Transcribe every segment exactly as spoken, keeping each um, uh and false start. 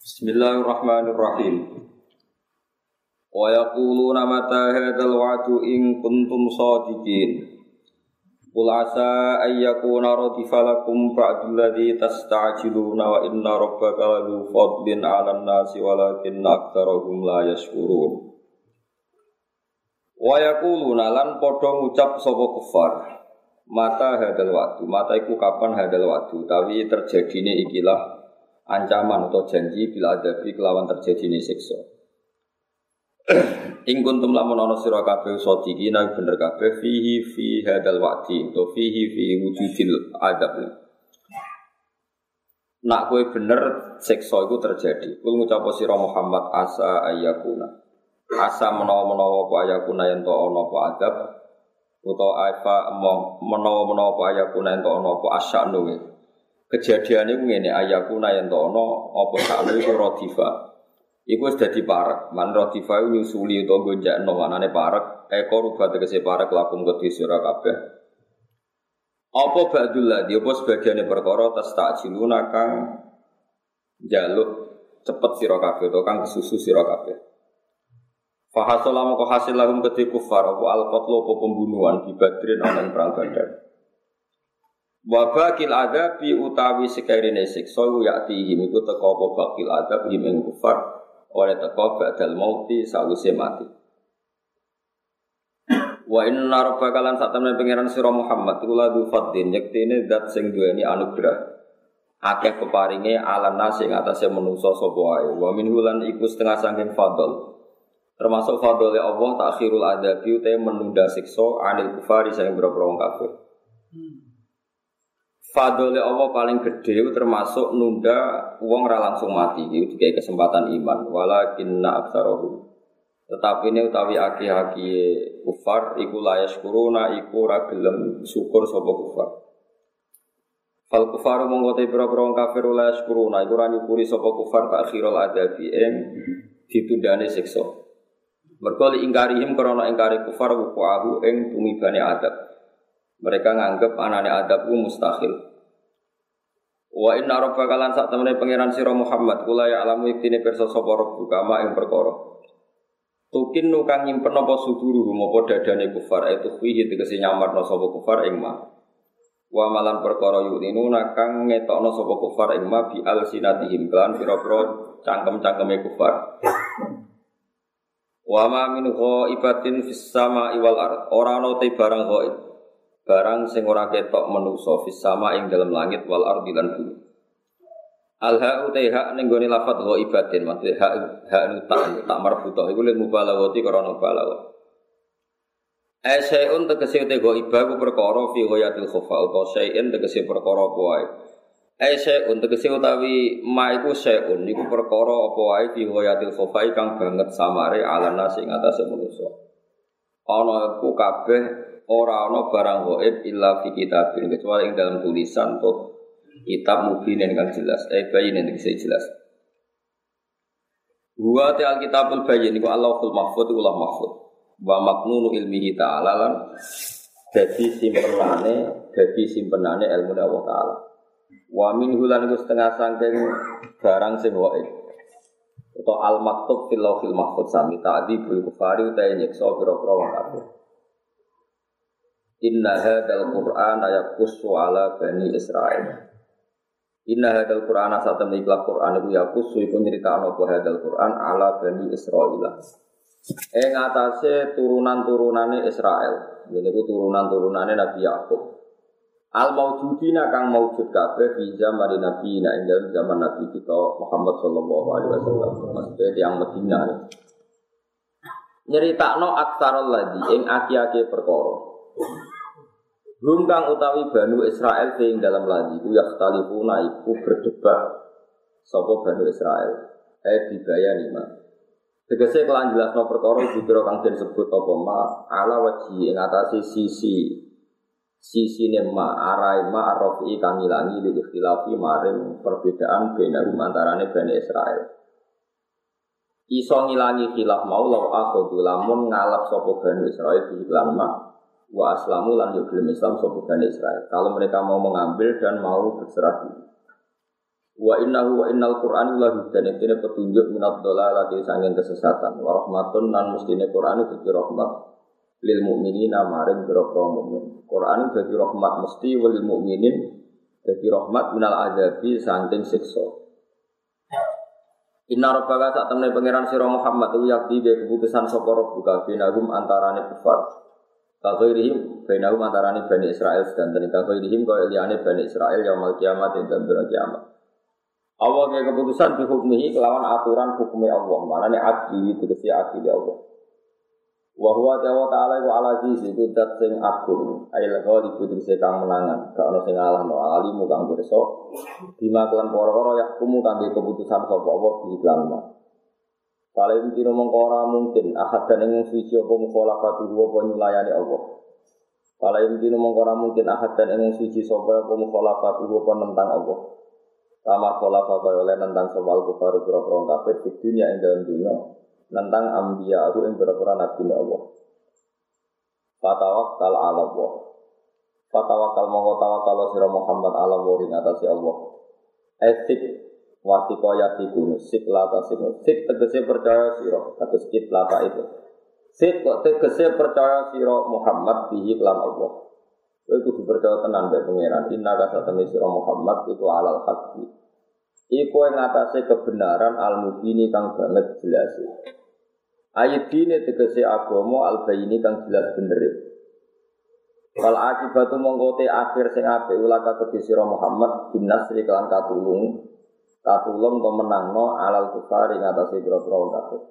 Bismillahirrahmanirrahim. Wa yaquluna mata hadzal wa'du in kuntum shadiqin. Qul asa ay yakuna radifa lakum ba'dul ladzi tasta'jiluna wa inna rabbaka ladzu fadlin 'alan nasi walakinna aktsarahum la yashkurun. Wa yaquluna lan padha ngucap sapa kufar. Mata hadzal wa'du, mata iku kapan hadzal wa'du, utawi terjadine ikilah ancaman atau janji bila adabi kelawan terjadine siksa. Ing kuntum lamun ana sira kabeh sadiqina bener kabeh fihi fi hadzal wa'di to fihi fi wujudil adab. Nak kowe bener siksa iku terjadi. Kul ngucap sira Muhammad asa ayyakuna. Asa menawa-menawa apa ayakuna yen to ana apa adab utawa apa menawa-menawa apa ayakuna yen to ana apa asya'nu. Kejadiane ku ngene ayakuna yen to ana apa sakno iku radifa. Iku wis dadi parek, man radifa iku nyusuli utawa gonjakno manane parek, eko rubat tegese parek lakum kedhi sira kabeh. Apa ba'dul ladzi apa sebagiane perkara tastajiluna kang njaluk cepet sira kabeh utawa kang kesusu sira kabeh. Fa hasala moko hasil lahum kedhi kufar apa al-qatlu apa pembunuhan di Badrin ana ing perang Badar. Wa baqil adabi utawi sekarine siksa ya'tihim iku teka apa baqil adab him kufar oleh teka ba'dal mauti sawise mati. Wa inna rabbaka lan satamene pangeran sira Muhammad iku ladzu fadlin yektene zat sing duweni anugerah akeh peparinge alam nasi ing atase manungsa sapa wae. Wa minhu lan iku setengah saking fadl termasuk fadlile Allah takhirul adabi utawa menunda siksa anil kufari sing boro-boro wong kafir. Fadole Allah paling gede termasuk nunda wong ra langsung mati iki dikai kesempatan iman walakinna aktsarahum tetapi ini utawi aki-aki kufar iku layas kuruna iku ra gelem syukur sapa kufar fal kufaru monggo te pira-pira kafir layas kuruna iku ra nyukuri sapa kufar takhirul adabi ing ditundane siksa mergo ingkarihim krana ingkari kufar wuquahu ing tumibane adab. Mereka nganggep anane adab ku mustahil. Wa inna rabbaka lan sak temene pangeran sira Muhammad kula ya alamu iktine pirsa sapa rabbuka ma ing perkara. Tukin nu kang nyimpen apa suduru apa dadane kufar itu fihi tegese nyamarno sapa kufar ing ma. Wa malan perkara yuninu kang ngetokno sapa kufar ing ma bi alsinatihim kan pira-pira cangkem-cangkeme kufar. Wa ma min ghaibatin fis sama'i wal ard ora ana te barang ghaib. Barang sing ora ketok manusa fis sama ing dalam langit wal ardi lan bumi. Al ha'u taha ning gone lafadz ghaibatin maksud ha ha tak tak marbuthah iku lil mubalaghati karena balagha. Asyai'un tegese te ghaibah ku perkara fi ghayatil khofa utawa syai'in tegese perkara apa wae. Asyai'un tegese utawi ma iku syai'un iku perkara apa wae fi ghayatil khofa kang banget samare alana sing atase manusa. Ana iku kabeh ora ana barang ghaib illa fi kitabin kecuali ing dalam tulisan atau kitab mubin yang jelas eh bayin yang jelas. Wa ta'al kitabul bayin iku Allahul mahfuz ulah mahfuz wa maknunu ilmihi ta'ala lan dadi simpenane dadi simpenane ilmu Allah taala. Wa minhu lan iku setengah saking barang sing ghaib atau al maktub fil lauhil mahfuz sami ta'dibul kufari utawa nyiksa pira-pira wong kafir. Inna hadzal Qur'ana yaqussu ala bani Israil. Inna hadzal Qur'ana satamne ikhlas Qur'an iku yaqussu iku nyritakno apa hadzal Qur'an ala bani Israil. Ing atase turunan-turunane Israel. Niku turunan-turunane Nabi Yakub. Al maujudina kang maujud kabeh fi zaman Nabi ing dalem zaman Nabi kita Muhammad sallallahu alaihi wasallam. Maksudnya tiyang Madinah. Nyritakno aksarul ladzi ing aki-aki perkara. Rum kang utawi Banu Israel ing dalam lagi ku yakhtalifuna iku berdebat sapa Banu Israel eh dibayani ma tegese kelan jelasno perkara dikira kang den sebut apa ma ala waji ing atase sisi sisine ma arai ma arafi kang ilangi di ikhtilafi maring perbedaan benarum antarane Bani Israel iso ngilangi khilaf mau law akhudhu lamun ngalap sapa Banu Israel di iklan ma wa aslamu lan yuglim Islam sapa Bani Israil. Kalau mereka mau mengambil dan mau berserah diri. Wa innahu wa innal Qur'an la hudan iki petunjuk minad dhalalati sanging kesesatan wa rahmatun lan mestine Qur'an itu rahmat lil mukminina maring pira-pira mukmin. Qur'an dadi rahmat mesti lil mukminin dadi rahmat minal azabi saking siksa. Inna rabbaka sak temne pangeran sira Muhammad ku yakti be keputusan sapa rabbuka binahum antarane kufar. Kaghairihim binahum antarane Bani Israil dan kaghairihim kaya liyane Bani Israil yaumul kiamat dan dina kiamat. Allah ke keputusan dihukmihi kelawan aturan hukumnya Allah. Maknane adli itu tegese adli Allah. Wa huwa ta'ala wa ala aziz itu zat sing agung. Ail ghalib tegese kang menangan. Gak ono sing ngalahno alimu kang pirsa. Bima kelan perkara yakumu kangge keputusan sapa Allah bi iklan. Kala iki mung ora mungkin ahad dan ing suci apa mukhalafatu wa nyulayani Allah. Kala iki mung ora mungkin ahad dan ing suci sapa apa mukhalafatu wa nentang Allah. Sama pola kaya oleh nentang soal kufar pura-pura kafir di dunia yang dalam dunia nentang ambiya aku yang pura-pura nabi Allah. Fatawakkal ala Allah. Fatawakkal mongko tawakal sira Muhammad ala Allah ing atase Allah. Etik wasiko yatiku sik lata sik sik tegese percaya sira kados kit lata itu. Sik kok tegese percaya sira Muhammad bihi lan Allah. Kowe kudu percaya tenan mbek pangeran. Inna kasatene sira Muhammad iku alal haqqi. Iku ing atase kebenaran al-mubini kang banget jelas. Ayat dine tegese agama al-bayini kang jelas bener. Wal akibatu mongko te akhir sing apik ulaka kedhe sira Muhammad binasri kelan katulung. Katulung to menangno alal kufar ing atase pira-pira kafir.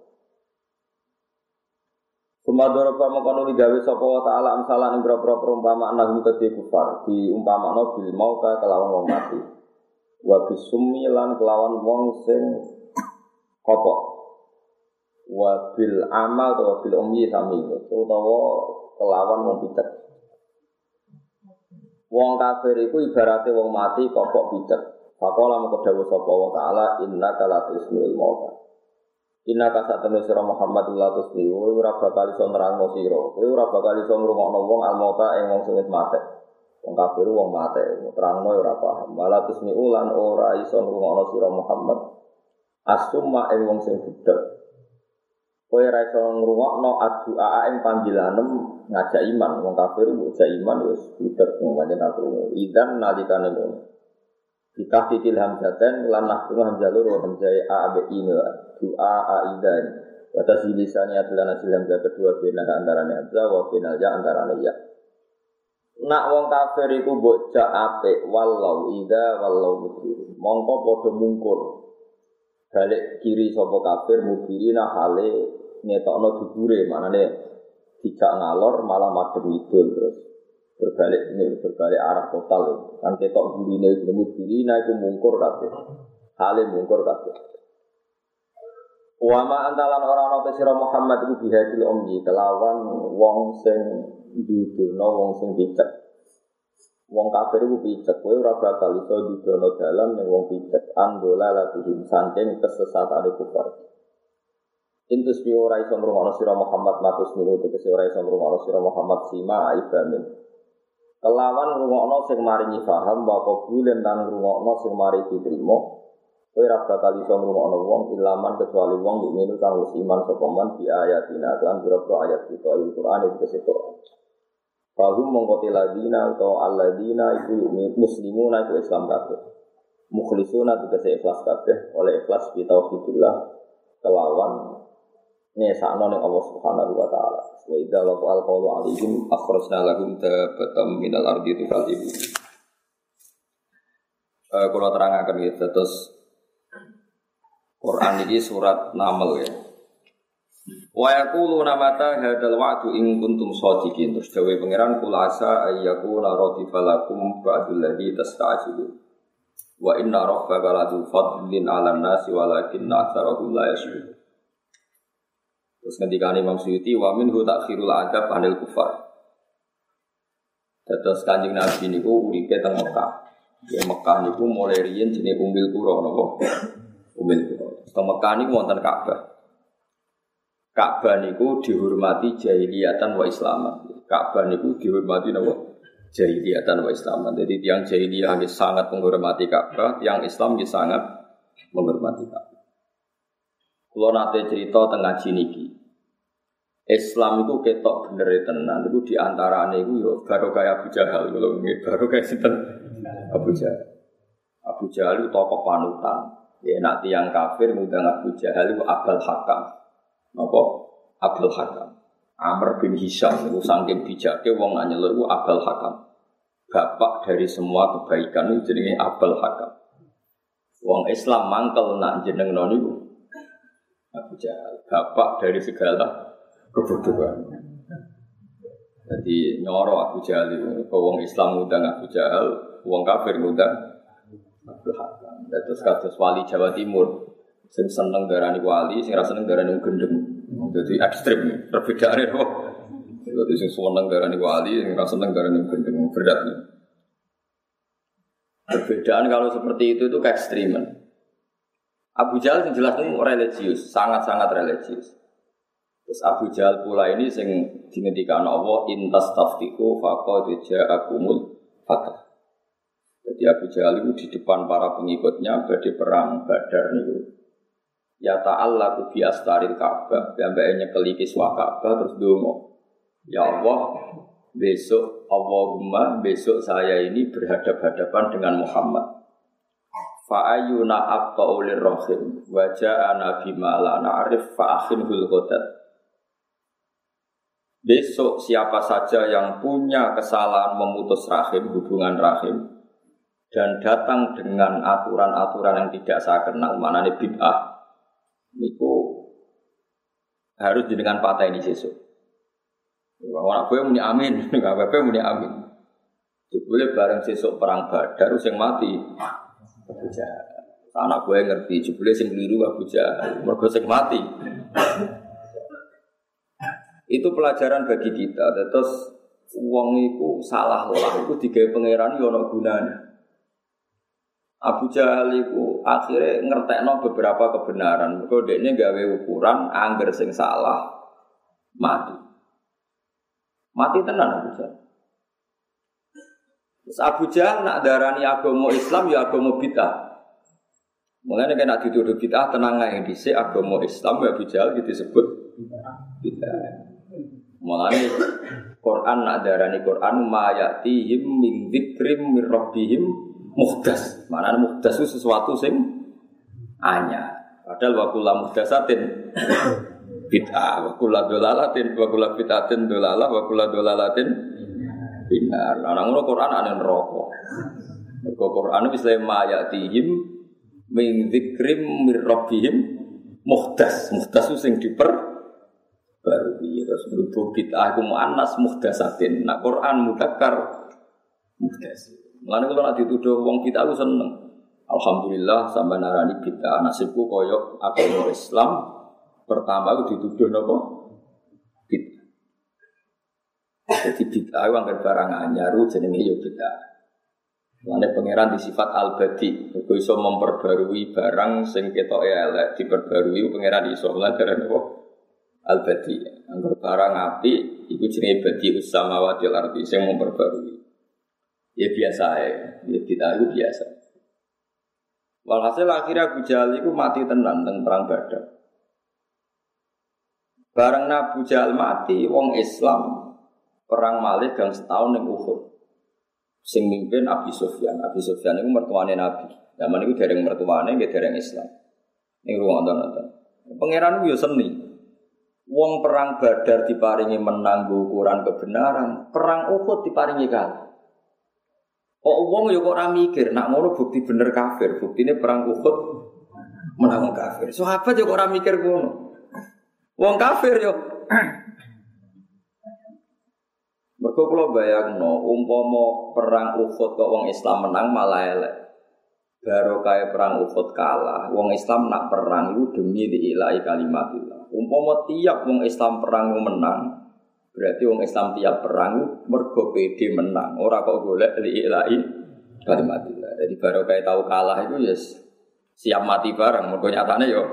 Sumadoro pa mengkono digawe sapa wa ta'ala amsalan ing boro-boro perumpamaan nang kedhe kufar diumpamakno bil mauta kelawan wong mati. Wa bisummi lan kelawan wong sing kopok. Wa bil amal atau bil ummi sami utawa kelawan wong picek. Wong kafir iku ibarate wong mati kopok picek. Faqala mengko dawuh sapa wa ta'ala innaka la tusmi'ul mauta. Inna kasatene sira Muhammad latus bi ora bakal iso nerangno sira. Kowe ora bakal iso ngrungokno wong almauta ing wong sing wis mate. Wong kafir wong mate, nerangno ora paham. Malatus mi ulan ora iso ngrungokno sira Muhammad. Asumma ing wong sing budhek. Kowe ora iso ngrungokno addu'a ing panggilanem ngajak iman. Wong kafir ngajak iman wis budhek pancen aku. Idan nalikane ngono. Kita fikil hamzatan lan nahnu hamzalur wa hamzai a b i doa aidan batas lisannya adalah hasil hamzah kedua bina antarane hamzah wa binal ya antarane ya. Nak wong kafir iku mbok jak apik wallau ida wallau mudhir mongko padha mungkur balik kiri sapa kafir mudhirina hale ngetokno dubure maknane dijak ngalor malah madhep idul terus berbalik ini berbalik arah total kan ketok gurine jenenge gurina iku mungkur kabeh hale mungkur kabeh wa ma antalan ora ana te sira Muhammad iku bihadil ummi kelawan wong sing didono wong sing picek wong kafir iku picek kowe ora bakal iso didono dalan ning wong picek andola latihim saking kesesatane kufar intus bi ora iso ngrungokno sira Muhammad matus minu tegese ora iso ngrungokno sira Muhammad sima ibamin kelawan ngrungokno sing maringi paham wa qabulen lan ngrungokno sing mari diterima kowe ora bakal iso ngrungokno wong ilaman kecuali wong mukmin kang wis iman sapa man bi ayatina lan pira-pira ayat kita Al-Qur'an iki kesepuro bahum mongko ladina utawa alladzina iku muslimuna iku Islam kabeh mukhlisuna tegese ikhlas kabeh oleh ikhlas bi tauhidillah kelawan nesakno ning Allah Subhanahu wa taala. Wa idza laqal qawlu alaihim akhrajna lahum tabatam minal ardi tuqalibu. Eh kula terangaken iki terus Quran iki surat Naml ya. Wa yaquluna mata hadzal wa'du in kuntum shadiqin. Terus dawuh pangeran kul asa ayyakuna radifalakum ba'dul ladzi tasta'jilun. Wa inna rabbaka ladu fadlin 'alan nasi walakinna aktsarahum la yashkurun. Terus ketika Imam Suyuti wa minhu takhirul adab anil kufar. Terus Kanjeng Nabi niku uripe teng Mekah. Ya Mekah niku mulai riyen jenenge Ummul Qura napa? Ummul Qura. Teng Mekah niku wonten Ka'bah. Ka'bah niku dihormati jahiliyatan wa islaman. Ka'bah niku dihormati napa? jahiliyah dan Islaman. Jadi tiang jahiliyah sangat menghormati Ka'bah, tiang Islam sangat menghormati Ka'bah. Kalau nanti cerita tengah niki, Islam itu ketok bener tenan. Itu diantara ini itu baru kayak Abu Jahal, kalau ini baru kayak sinten Abu Jahal. Abu Jahal itu tokoh panutan. Ya nak tiang kafir ngundang Abu Jahal itu Abul Hakam. Apa? Abul Hakam. Amr bin Hisham itu saking bijaknya wong nyeluk itu Abul Hakam. Bapak dari semua kebaikan itu jenenge Abul Hakam. Wong Islam mangkel nak jeneng niku Abu Jahal, bapak dari segala kebodohan. Jadi nyoro Abu Jahal itu, kalau wong Islam ngundang Abu Jahal, wong kafir ngundang Abul Hakam. Terus kados wali Jawa Timur, sing seneng darani wali, sing ra seneng darani gendeng. Jadi ekstrem, perbedaane kok. Jadi sing seneng darani wali, sing ra seneng darani gendeng, berat. Perbedaan kalau seperti itu itu keekstriman. Abu Jahal yang jelas itu religius, sangat-sangat religius. Terus Abu Jahal pula ini sing dingendikan Allah intas taftiku faqad ja'akumul fatah. Jadi Abu Jahal itu di depan para pengikutnya badhe perang Badar niku. Ya ta'allaku bi astaril Ka'bah, sampai nyekeli kiswa Ka'bah terus ndonga. Ya Allah, besok Allahumma besok saya ini berhadap-hadapan dengan Muhammad. Fa'ayuna abta'u lirrahim wa ja'ana bima la na'rif fa'akhinhul ghadat. Besok siapa saja yang punya kesalahan memutus rahim, hubungan rahim, dan datang dengan aturan-aturan yang tidak saya kenal, maknanya bid'ah, niku harus dengan patah ini sesuk. Orang gue muni amin, nggak apa-apa muni amin. Boleh bareng sesuk perang Badar, yang mati Abu Jahal. Anak gue ngerti, jebule sing keliru Abu Jahal, mergo sing mati. Itu pelajaran bagi kita. Terus wong iku salah lah, iku digawe pangeran yo ana gunane. Abu Jahal iku akhirnya ngertekno beberapa kebenaran. Mergo dekne gawe ukuran angger sing salah mati. Mati tenan Abu Jahal. Terus Abu Jahal nak darani agama Islam ya agama bid'ah. Mulane nek nak dituduh bid'ah tenang ae dhisik agama Islam ya Abu Jahal disebut bid'ah. Mulane Quran nak darani Quran ma ya'tihim min dzikrim mir rabbihim muhdas. Maknane muhdas itu sesuatu sing anyar. Padahal wa kullu muhdasatin bid'ah, wa kullu dolalatin wa kullu bid'atin dolalah wa kullu dolalatin binar. Lah ngono Quran ana neraka. Mergo Quran wis le ma ya'tihim min dzikrim mir rabbihim muhdas. Muhdas sing diper baru ini terus berhubung bid'ah aku mu'annas muhdasatin. Nah Quran mudzakkar muhdas. Mulane kalau nak dituduh wong bid'ah aku seneng. Alhamdulillah sampai narani bid'ah nasibku koyok agama Islam pertama aku dituduh napa bid'ah. Jadi bid'ah wong barang anyar jenenge yo bid'ah. Mulane pangeran disifat al-badi, kok iso memperbarui barang sing ketoke elek diperbarui pangeran iso lha napa al-badi. Angger barang api iku jenenge badius samawati wal ardi sing memperbarui. Ya biasa ae, ya kita itu biasa. Walhasil akhirnya Abu Jahal itu mati tenan teng perang Badar. Bareng Abu Jahal mati, wong Islam perang malih gang setahun ning Uhud. Sing mimpin Abi Sufyan. Abi Sufyan iku mertuane Nabi. Zaman iku dereng mertuane nggih dereng Islam. Ning ruang-ruang. Pangeran ku yo seni. Wong perang Badar diparingi menang ukuran kebenaran, perang Uhud diparingi kalah. Kok wong yo kok ora mikir, nak ngono bukti bener kafir, buktine perang Uhud menang kafir. Sahabat yo kok ora mikir ngono. Wong kafir yo. Mergo kula bayangno, umpama perang Uhud kok wong Islam menang malah elek. Baru kaya perang Uhud kalah, wong Islam nak perang itu demi diilahi kalimatillah. Umpama tiap wong Islam perang menang, berarti wong Islam tiap perang mergo pede menang. Ora kok golek diilahi kalimatillah. Jadi baru kaya tahu kalah itu ya siap mati bareng. Mergo nyatane yo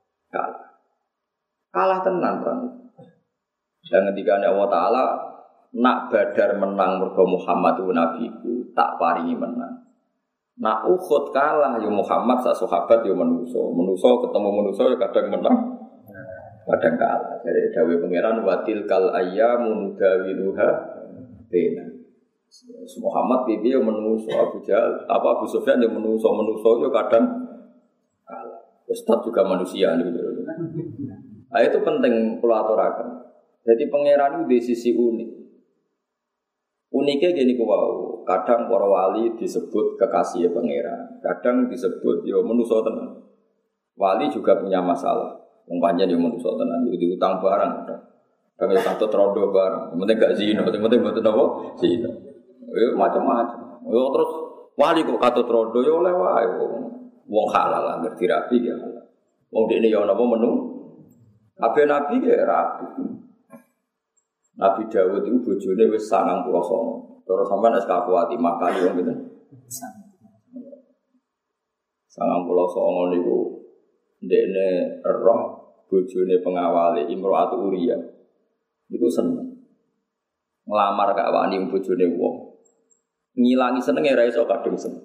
kalah. Kalah tenan perang. Dan ketika Allah Taala nak Badar menang mergo Muhammad itu nabiku, tak paringi menang. Nak Uhud kalah ya Muhammad sak sahabat ya manusa. Manusa ketemu manusa ya kadang menang, kadang kalah. Jadi dawuh pangeran watil kal ayyamu nudawiluha baina. Muhammad piye ya manusa, Abu Jahal, apa Abu Sufyan ya manusa, manusa ya kadang kalah. Ustaz juga manusia nih. Nah, itu penting kula aturaken. Jadi pangeran itu di sisi unik. Uniknya gini ku wau, kadang para wali disebut kekasih pangeran, kadang disebut yo manusa tenan. Wali juga punya masalah. Wong pancen yo manusa tenan, yo diutang barang. Kadang yo katut rondo barang. Penting gak zina, penting mboten apa? Zina. Yo macam-macam. Yo terus wali kok katut rondo yo oleh wae wong halal lah ngerti rapi ya. Wong dekne yo napa menu? Kabeh nabi ya rapi. Nabi Dawud itu bojone wis sangang puluh songo. Terus sampean es kakuati makani wong gitu. Sangang puluh songo niku ndekne roh bojone pengawale Imro'atu Uriyah. Niku seneng. Nglamar gak wani bojone wong. Ngilangi senenge ra iso kadung seneng.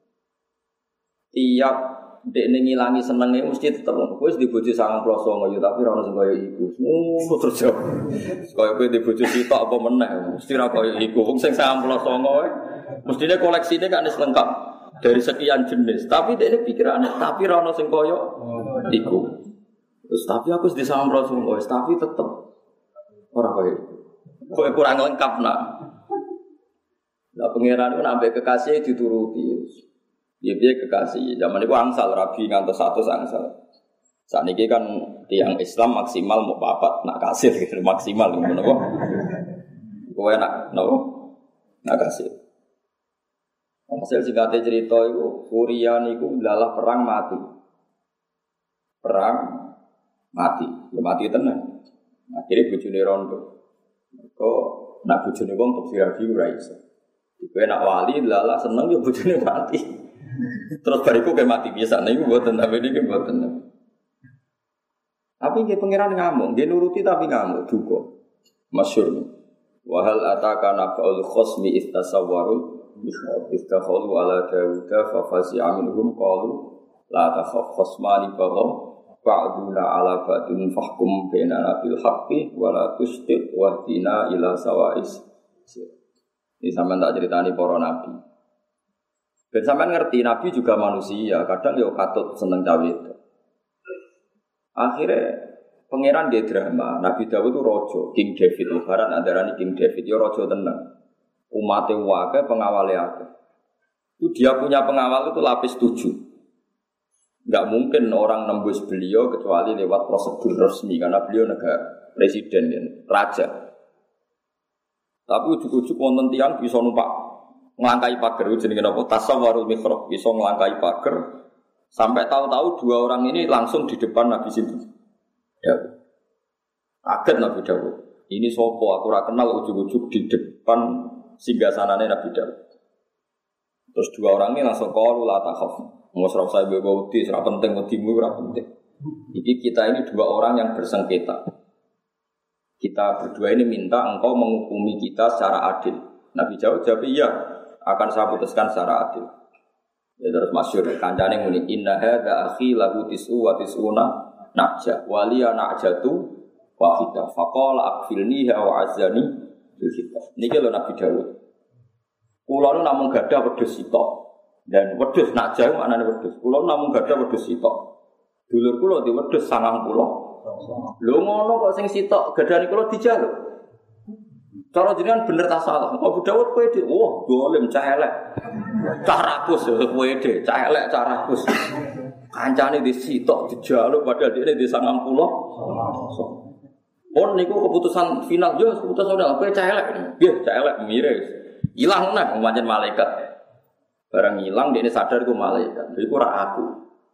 Tiap dekne ngilangi senenge mesti tetep kowe wis di bojo sangang puluh songo ya tapi ora ono sing kaya iku. Ngono terus yo. Kaya kowe di bojo sitok apa meneh mesti ora kaya iku. Wong sing sangang puluh songo wae mestine koleksine kan wis lengkap dari sekian jenis. Tapi dekne pikirane tapi ora ono sing kaya iku. Terus tapi aku wis di sangang puluh songo wis tapi tetep ora kaya iku. Kowe kurang lengkap nak. Lah pangeran itu nambah kekasih dituruti. Dia kekasih. Zaman itu angsal rabi ngantos satu angsal. Saat ini kan tiang Islam maksimal mau papat nak kasih gitu maksimal ngono kok. Kowe nak nopo? Nak kasih. Hasil singkatnya cerita itu Suriah niku dalah perang mati. Perang mati. Ya mati tenan. Akhirnya bojone rondo. Kok nak bojone wong kok sirabi ora iso. Kowe nak wali dalah seneng ya bojone mati. Terus bariku kayak mati biasa, nih gue buatan tapi ini gue buatan. Tapi dia pangeran ngamuk, dia nuruti tapi ngamuk juga. Masyur nih. Wahal ataka nafa'ul khosmi istasawwarul istakhalu ala Dawuda fafasi aminhum qalu la takhaf khosmani baghaw ba'duna ala ba'dun fahkum bainana bil haqqi wa la tustit wahdina ila sawa'is. Ini sampean tak ceritani para nabi. Dan sampean ngerti Nabi juga manusia, kadang yo katut seneng cawe itu. Akhirnya pangeran dia drama. Nabi Dawud itu rojo, King David, lebaran antaranya King David, yo rojo tenang. Umatnya wakai pengawalnya ada. Itu dia punya pengawal itu lapis tujuh. Enggak mungkin orang nembus beliau kecuali lewat prosedur resmi karena beliau negara presiden dan raja. Tapi ujuk-ujuk wonten tiyang bisa numpak ngelangkai pagar itu jenenge apa? Tasawwarul mihrab, bisa ngelangkai pagar sampai tahu-tahu dua orang ini langsung di depan Nabi situ. Ya. Kaget Nabi Dawud. Ini sopo aku ora kenal ujuk-ujuk di depan singgasanane Nabi Dawud. Terus dua orang ini langsung qalu la takhaf. Mos ora usah bawa wedi, ora penting wedimu ora penting. Iki kita ini dua orang yang bersengketa. Kita berdua ini minta engkau menghukumi kita secara adil. Nabi Dawud jawab iya. Akan saya putuskan secara adil. Ya terus masyhur kancane muni inna hadza akhi lahu tis'u wa tis'una najah waliya najatu wahidah faqala akfilniha wa azani bil hitab. Niki lho Nabi Dawud. Kula nu namung gadah wedhus sitok. Dan wedhus najah maknane wedhus. Kula namung gadah wedhus sitok. Dulur kula di wedhus sangang puluh. Lho ngono kok sing sitok gadane kula dijaluk. Cara jenengan bener ta salah. Abu Dawud kowe dhe, wah dolim cah elek. Cah rakus kowe dhe, cah elek cah rakus. Kancane disitok dijaluk padahal dhekne di sangang puluh. Pon niku keputusan final yo keputusan udah kowe cah elek. Nggih, cah elek mire. Ilang nang pancen malaikat. Barang ilang dhekne sadar iku malaikat. Iku ora aku.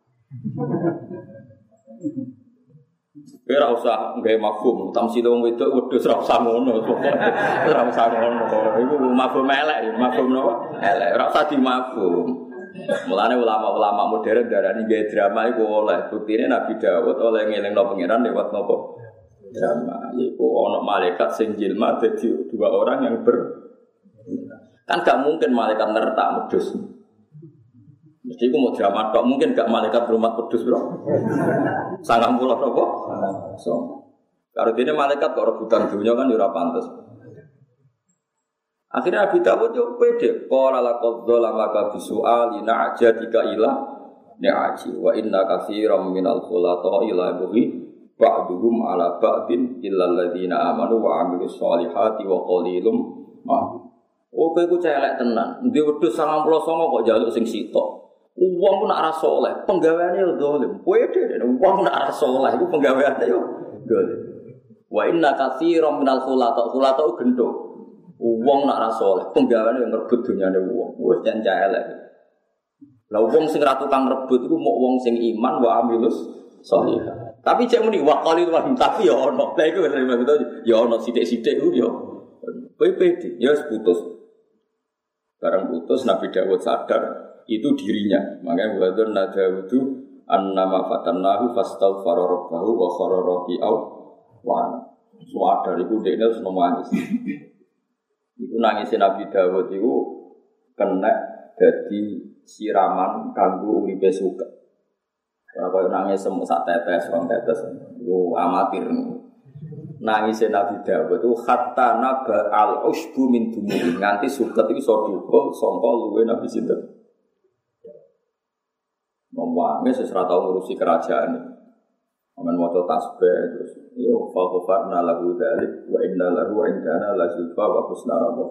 Ora usah nggawe mafhum, tamsil wong wedok wedhus ora usah ngono. Ora usah ngono. Iku mafhum elek, mafhum napa? Elek, ora usah dimafhum. Mulane ulama-ulama modern darani gawe drama iku oleh. Buktine Nabi Dawud oleh ngelingno pangeran lewat napa? drama. Yaiku ono malaikat sing jilma dadi dua orang yang ber kan gak mungkin malaikat nertak medhus. Mesti ku mau drama tok, mungkin gak malaikat rumah pedus, Bro. Sangang puluh apa? So. Kalau dene malaikat kok rebutan dunia kan ya ora pantes. Akhirnya Abi Dawud yo pede, qala laqad zalamaka bisu'ali na'jadika ila ni'aji wa inna katsiran minal khulata ila bughi ba'duhum ala ba'din illa alladziina amanu wa 'amilus shalihati wa qalilum ma. Oh kowe ku celek tenan. Ndi wedhus sangang puluh songo kok njaluk sing sitok. Wong ku nak ora saleh, penggaweane yo zalim. Pede wong nak ora saleh iku penggaweane yo zalim. Wa inna katsiran minal khulata khulata gendho. Wong nak ra saleh, penggaweane ngrebut dunyane wong. Wis jan elek. Lah wong sing ra tukang rebut iku mok wong sing iman wa amilus shalihah. Tapi cek muni wa qalil wa tapi ya ono. Lah iku ya ono sithik-sithik ku yo. Kowe pede, ya wis putus. Barang putus Nabi Dawud sadar itu dirinya. Makanya wadon nadawudu annama fatannahu fastaghfara rabbahu wa khara raki'au wa sadar iku dekne wis nangis. Iku nangisé Nabi Dawud iku kena dadi siraman kanggo uripe suka. Ora koyo nangis semuk sak tetes, rong tetes. Iku amatir. Nangisé Nabi Dawud itu hatta naba al-usbu min dumuri nganti suket iki iso dukul sangka luwe Nabi sinten. Wangis wis ora tau ngurusi kerajaan. Amen maca tasbih terus yo fa ghafarna lahu dzalik wa inna lahu indana la zulfa wa husna rabbah.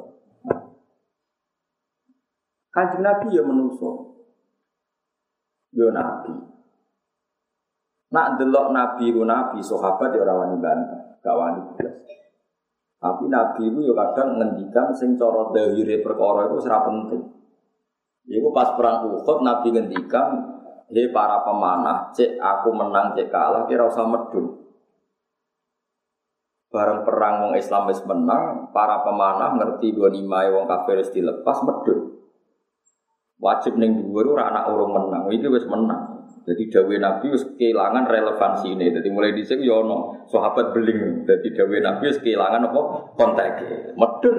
Kanjeng Nabi ya menungso. Yo nabi. Nak delok nabi ku nabi sahabat ya ora wani bantah, gak wani blas. Tapi nabi ku yo kadang ngendikan sing cara dhahire perkara iku ora penting. Iku pas perang Uhud nabi ngendikan hei para pemanah, cek aku menang, cek kalah, kira usah medun. Bareng perang wong Islam wis menang, para pemanah ngerti ghanimah wong kafir wis dilepas medun. Wajib ning dhuwur ora anak urung menang, iki wis menang. Jadi dawuh Nabi wis kehilangan relevansi ini. Jadi mulai dhisik yo ono sahabat beling. Jadi dawuh Nabi wis kehilangan apa konteke. Medun.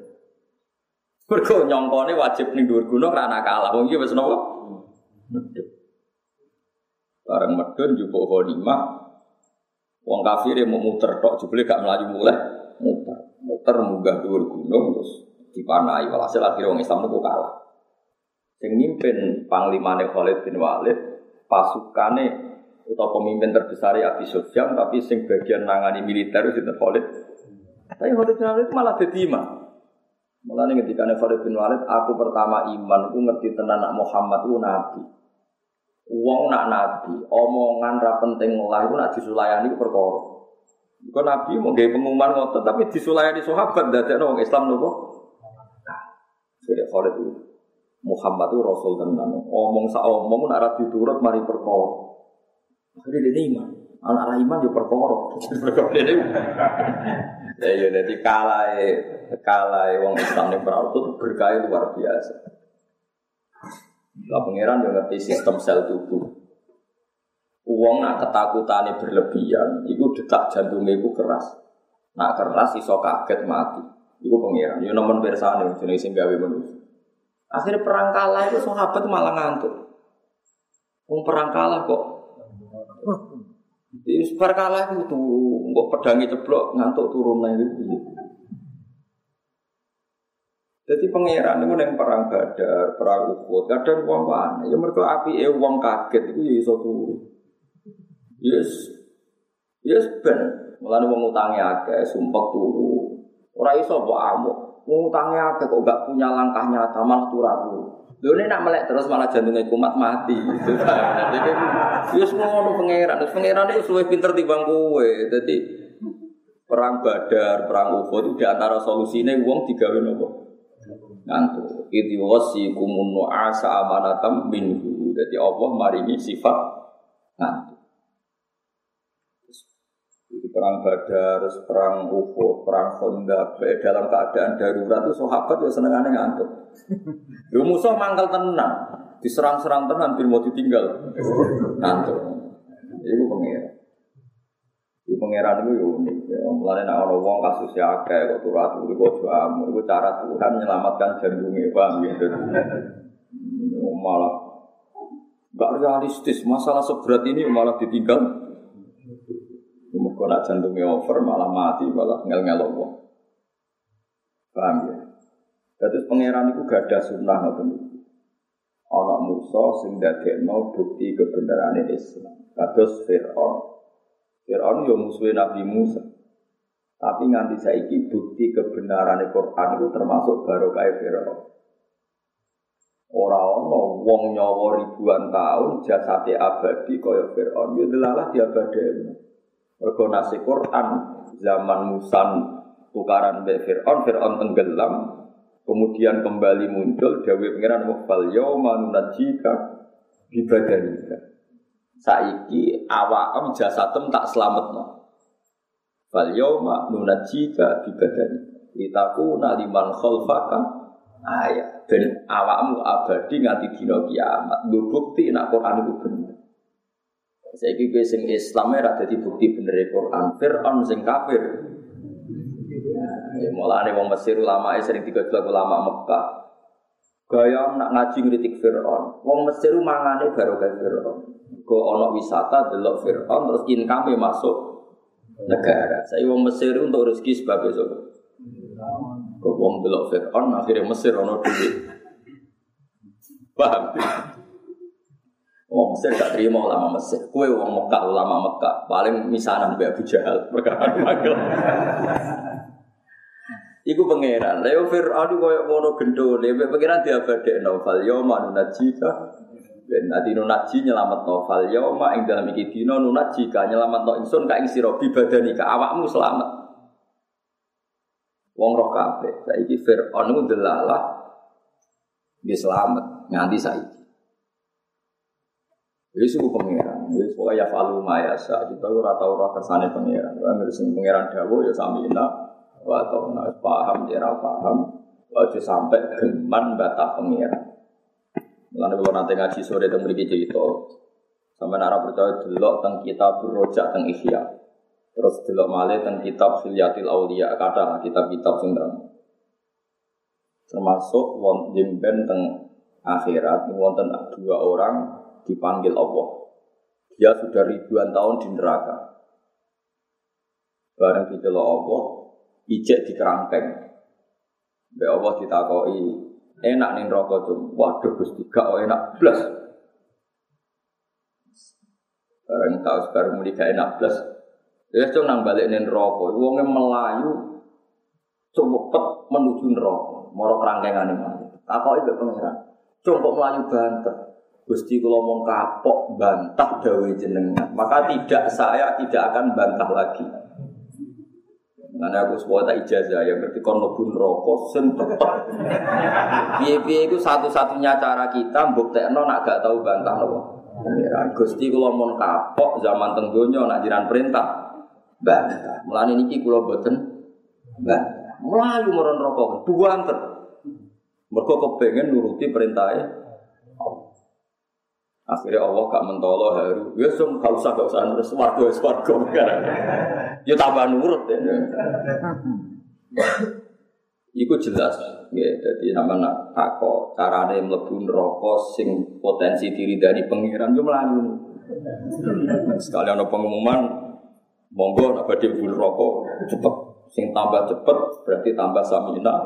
Mergo nyongkone wajib ning dhuwur gunung ora anak kalah. Wong iki wis napa? Medun. Bareng medun njupuk ghanimah. Wong kafir mau muter tok jebule gak mlayu muleh, muter. Muter munggah dhuwur gunung terus dipanahi. Walhasil akhire wong Islam niku kalah. Sing mimpin panglimane Khalid bin Walid, pasukane utawa pemimpin terbesar Abi Sufyan tapi sing bagian nangani militer sinten Khalid. Tapi Khalid bin Walid malah dadi imam. Mulane ngendikane Khalid bin Walid, aku pertama iman ku ngerti tenan nak Muhammad ku nabi. Wong nak nabi, omongan ra penting lah iku nak disulayani ku perkara. Iku nabi mau gawe pengumuman ngoten tapi disulayani sahabat dadekno wong Islam nopo? Jadi Khalid itu Muhammad itu rasul tenan. Omong sak omong nak ra diturut mari perkara. Akhire dene iman. Anak ra iman yo perkara. Ya ya dadi kalae kalae wong Islam ning perang itu berkah luar biasa. Lah pangeran yo ngerti sistem sel tubuh. Wong nak ketakutane berlebihan, iku detak jantunge iku keras. Nak keras iso kaget mati. Iku pangeran. Yo nemen pirsane jenenge sing gawe manusa. Akhirnya perang kalah itu sahabat malah ngantuk. Wong perang kalah kok. Di perang kalah itu turu, kok pedangi ceblok ngantuk turun itu. Jadi pangeran itu yang perang Badar, perang Uhud, kadang wong wane, ya mereka api eh wong kaget itu ya iso turu. Yes, yes ben, mulane wong utange akeh, sumpek turu. Ora iso mbok amuk, wong utange akeh kok gak punya langkah nyata malah turu. Lho nek nak melek terus malah jantungnya kumat mati. Jadi yes ngono pangeran, terus pangeran itu luwih pinter timbang kowe. Jadi perang Badar, perang Uhud itu di antara solusine wong digawe nopo? Ngantuk. Idhi wasikumun nu'asa amanatam minhu. Jadi Allah maringi sifat ngantuk. Itu perang Badar, perang Uhud, perang Khandaq. Dalam keadaan darurat itu sahabat ya senengane ngantuk. Yo musuh mangkal tenan, diserang-serang tenan bil mau ditinggal. Ngantuk. Iku pengira. pangeran itu unik. Ya, mulane nek ana wong kasus akeh kok turu-turu kok jamu, iku cara Tuhan menyelamatkan jantungnya, paham ya. Malah enggak realistis, masalah seberat ini malah ditinggal. Mergo nek jantungnya over malah mati, malah ngel-ngel wong. Paham ya. Terus pangeran itu gak ada sunnah ngoten iki. Ana Musa sing dadekno bukti kebenarane Islam. Kados Firaun. Firaun yo musuhe Nabi Musa. Tapi nganti saiki bukti kebenarane Quran itu termasuk barokah Firaun. Ora ana wong nyawa ribuan tahun jasate abadi kaya Firaun. Yo delalah diabadeni. Mergo nasi Quran zaman Musa tukaran mbek Firaun, Firaun tenggelam. Kemudian kembali muncul dawuh pangeran wafal yauma nunajjika bi badanika. Saiki awakam jasadem tak slametno. Fal yauma nunajjika bi badanika. Litakuna liman khalfaka ayat. Ben awakmu abadi nganti dina kiamat. Nggo bukti nek Quran iku bener. Saiki kowe sing Islam ora dadi bukti bener Quran. Firaun sing kafir. Ya mulane wong Mesir ulama sering digojlok ulama Mekah. Gaya nak ngaji ngritik Firaun. Wong Mesir mangane barokah Firaun. Go ana wisata delok Firaun terus income masuk negara. Saya wong Mesir untuk rezeki sebab itu. Go wong delok Firaun akhirnya Mesir ana duit. Paham? Wong Mesir gak terima ulama Mesir. Kowe wong Mekah ulama Mekah paling misanan mbek Abu Jahal perkara magel. Iku pangeran. Lha Firaun koyo ngono gendone, pangeran diabadekno fal yauma nunajjika. Ben ati nunaji nyelametno fal yauma ing dalem iki dina nunajjika nyelametno ingsun ka ing sira bibadanika awakmu selamat. Wong roh kabeh. Saiki Firaun ku delalah wis selamat nganti saiki. Wis ku pangeran, wis pokoke ya falu mayasa kita ora tau ora kersane pangeran. Wong sing pangeran dawuh ya samina wa ta'ala paham ya paham aja sampai geman batas pengiran. Mulane kula nate ngaji sore teng mriki cerita sampeyan ora percaya delok teng kitab Rojak teng Ihya. Terus delok malih teng kitab Hilyatil Auliya kathah kitab-kitab sing termasuk wonten jemben teng akhirat wonten dua orang dipanggil Allah. Dia sudah ribuan tahun di neraka. Bareng dicelok Allah ijek di kerangkeng. Mbak Allah ditakoki, enak ning neraka cum. Waduh Gusti, gak enak blas. Bareng tau sekarang muni gak enak blas. Ya cung nang balik ning neraka, wonge melayu cepet menuju neraka, mara kerangkengane mati. Takoki mbek pangeran. Cung kok melayu banter. Gusti kula mung kapok bantah dawuh jenengan. Maka tidak saya tidak akan bantah lagi. Karena aku sebuah tak ijazah yang berarti kon mlebu neraka sing tetep. Piye-piye iku satu-satunya cara kita mbuktekno nak gak tau bantah napa. Pangeran Gusti kula mun kapok zaman teng donya nak jiran perintah bantah. Mulane niki kula boten bantah. Mlayu marang neraka buanter. Mergo kepengin nuruti perintahe. Akhirnya Allah gak mentolo haru. Ya sum gak usah gak usah terus swarga swarga perkara. Ya tambah nurut ya. Iku jelas ya. Jadi namanya takok carane mlebu neraka sing potensi diridani pangeran yo mlayu. Sekali ana pengumuman monggo nek badhe mlebu neraka cepet. Sing tambah cepet berarti tambah samina.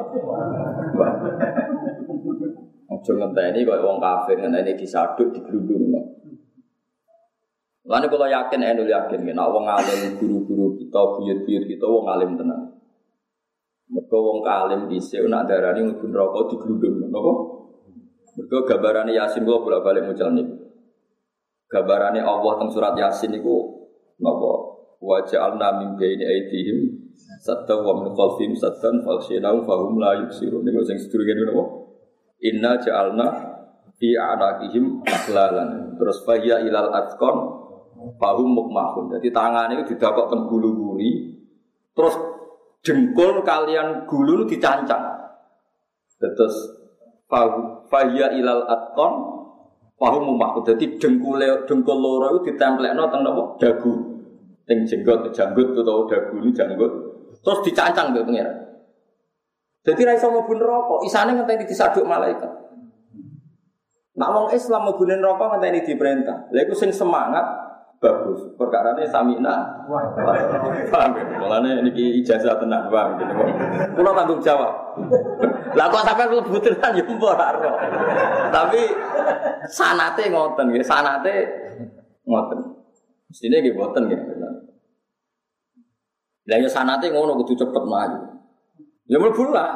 Ojo ngenteni kaya wong kafir ngenteni disaduk diglundungno. Lan kula yakin enu yakin nek wong alim guru-guru kita buyut-buyut kita wong alim tenan. Mergo wong alim dhisik nek darani mlebu neraka diglundungno napa? Mergo gambarane Yasin kula bolak-balik mucal niku. Gambarane Allah teng surat Yasin niku napa? Wa ja'alna min baini aydihim sadda wa min khalfihim saddan faghshaynahum fahum la yubsirun. Niku sing sedurunge napa? Inna ja'alna fi a'naqihim aghlalan. Terus fahya ilal atqan fahum mukmahun. Jadi tangane itu didakok teng gulu-guri. Terus jengkul kalian gulu dicancang. Terus fahya ilal atqan fahum mukmahun. Jadi dengkul dengkul loro itu ditemplekno teng napa? Dagu. Teng jenggot janggut utawa dagu ini janggut. Terus dicancang mbek pangeran. Dadi ra iso mlebu neraka, isane ngenteni disaduk malaikat. Nak wong Islam mlebu neraka ngenteni diperintah. Lha iku sing semangat bagus. Perkarane samina. Paham ya? Mulane niki ijazah tenan wae gitu. Kula tanggung jawab. Lah kok sampean mlebu tenan ya ora ora. Tapi sanate ngoten nggih, sanate ngoten. Mestine nggih mboten nggih. Lah ya sanate ngono kudu cepet maju. Ya mlebu lah.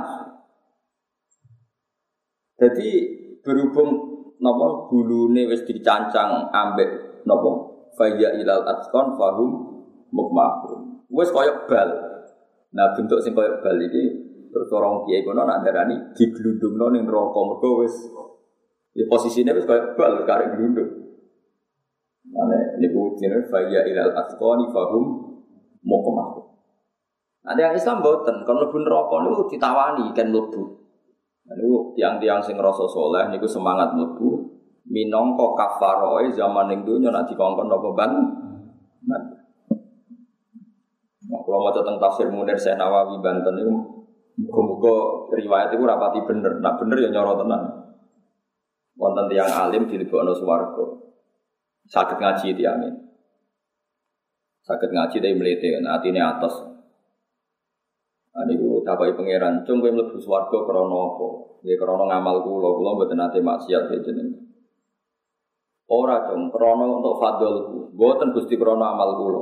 Jadi berhubung napa gulune wis dicancang ambek napa faya ilal atqan fahum mukmahum. Wis koyo bal. Nah bentuk sing koyo bal iki terus orang kiai kono nak darani diglundungno ning neraka mergo wis ya posisine wis koyo bal karek glundung. Mane niku jenenge faya ilal atqan fahum mukmahum. Ada yang Islam boten, kalau mlebu neraka niku ditawani kan mlebu. Niku tiang-tiang sing rasa saleh niku semangat mlebu minangka kafaroe zaman ning donya nek dikongkon apa ban. Nah, kalau maca teng tafsir Munir Syekh Nawawi Banten niku muga-muga riwayat iku rapati bener, nek bener ya nyoro tenan. Wonten tiyang alim dilebokno swarga. Saged ngaji tiyangin. Saged ngaji tapi mlete kan atine atos. Niku takoki pangeran, cung kowe mlebu swarga krana apa? Nggih krana ngamal kula, kula mboten nate maksiat jenengan. Ora cung krana untuk fadlku, mboten Gusti krana amal kula.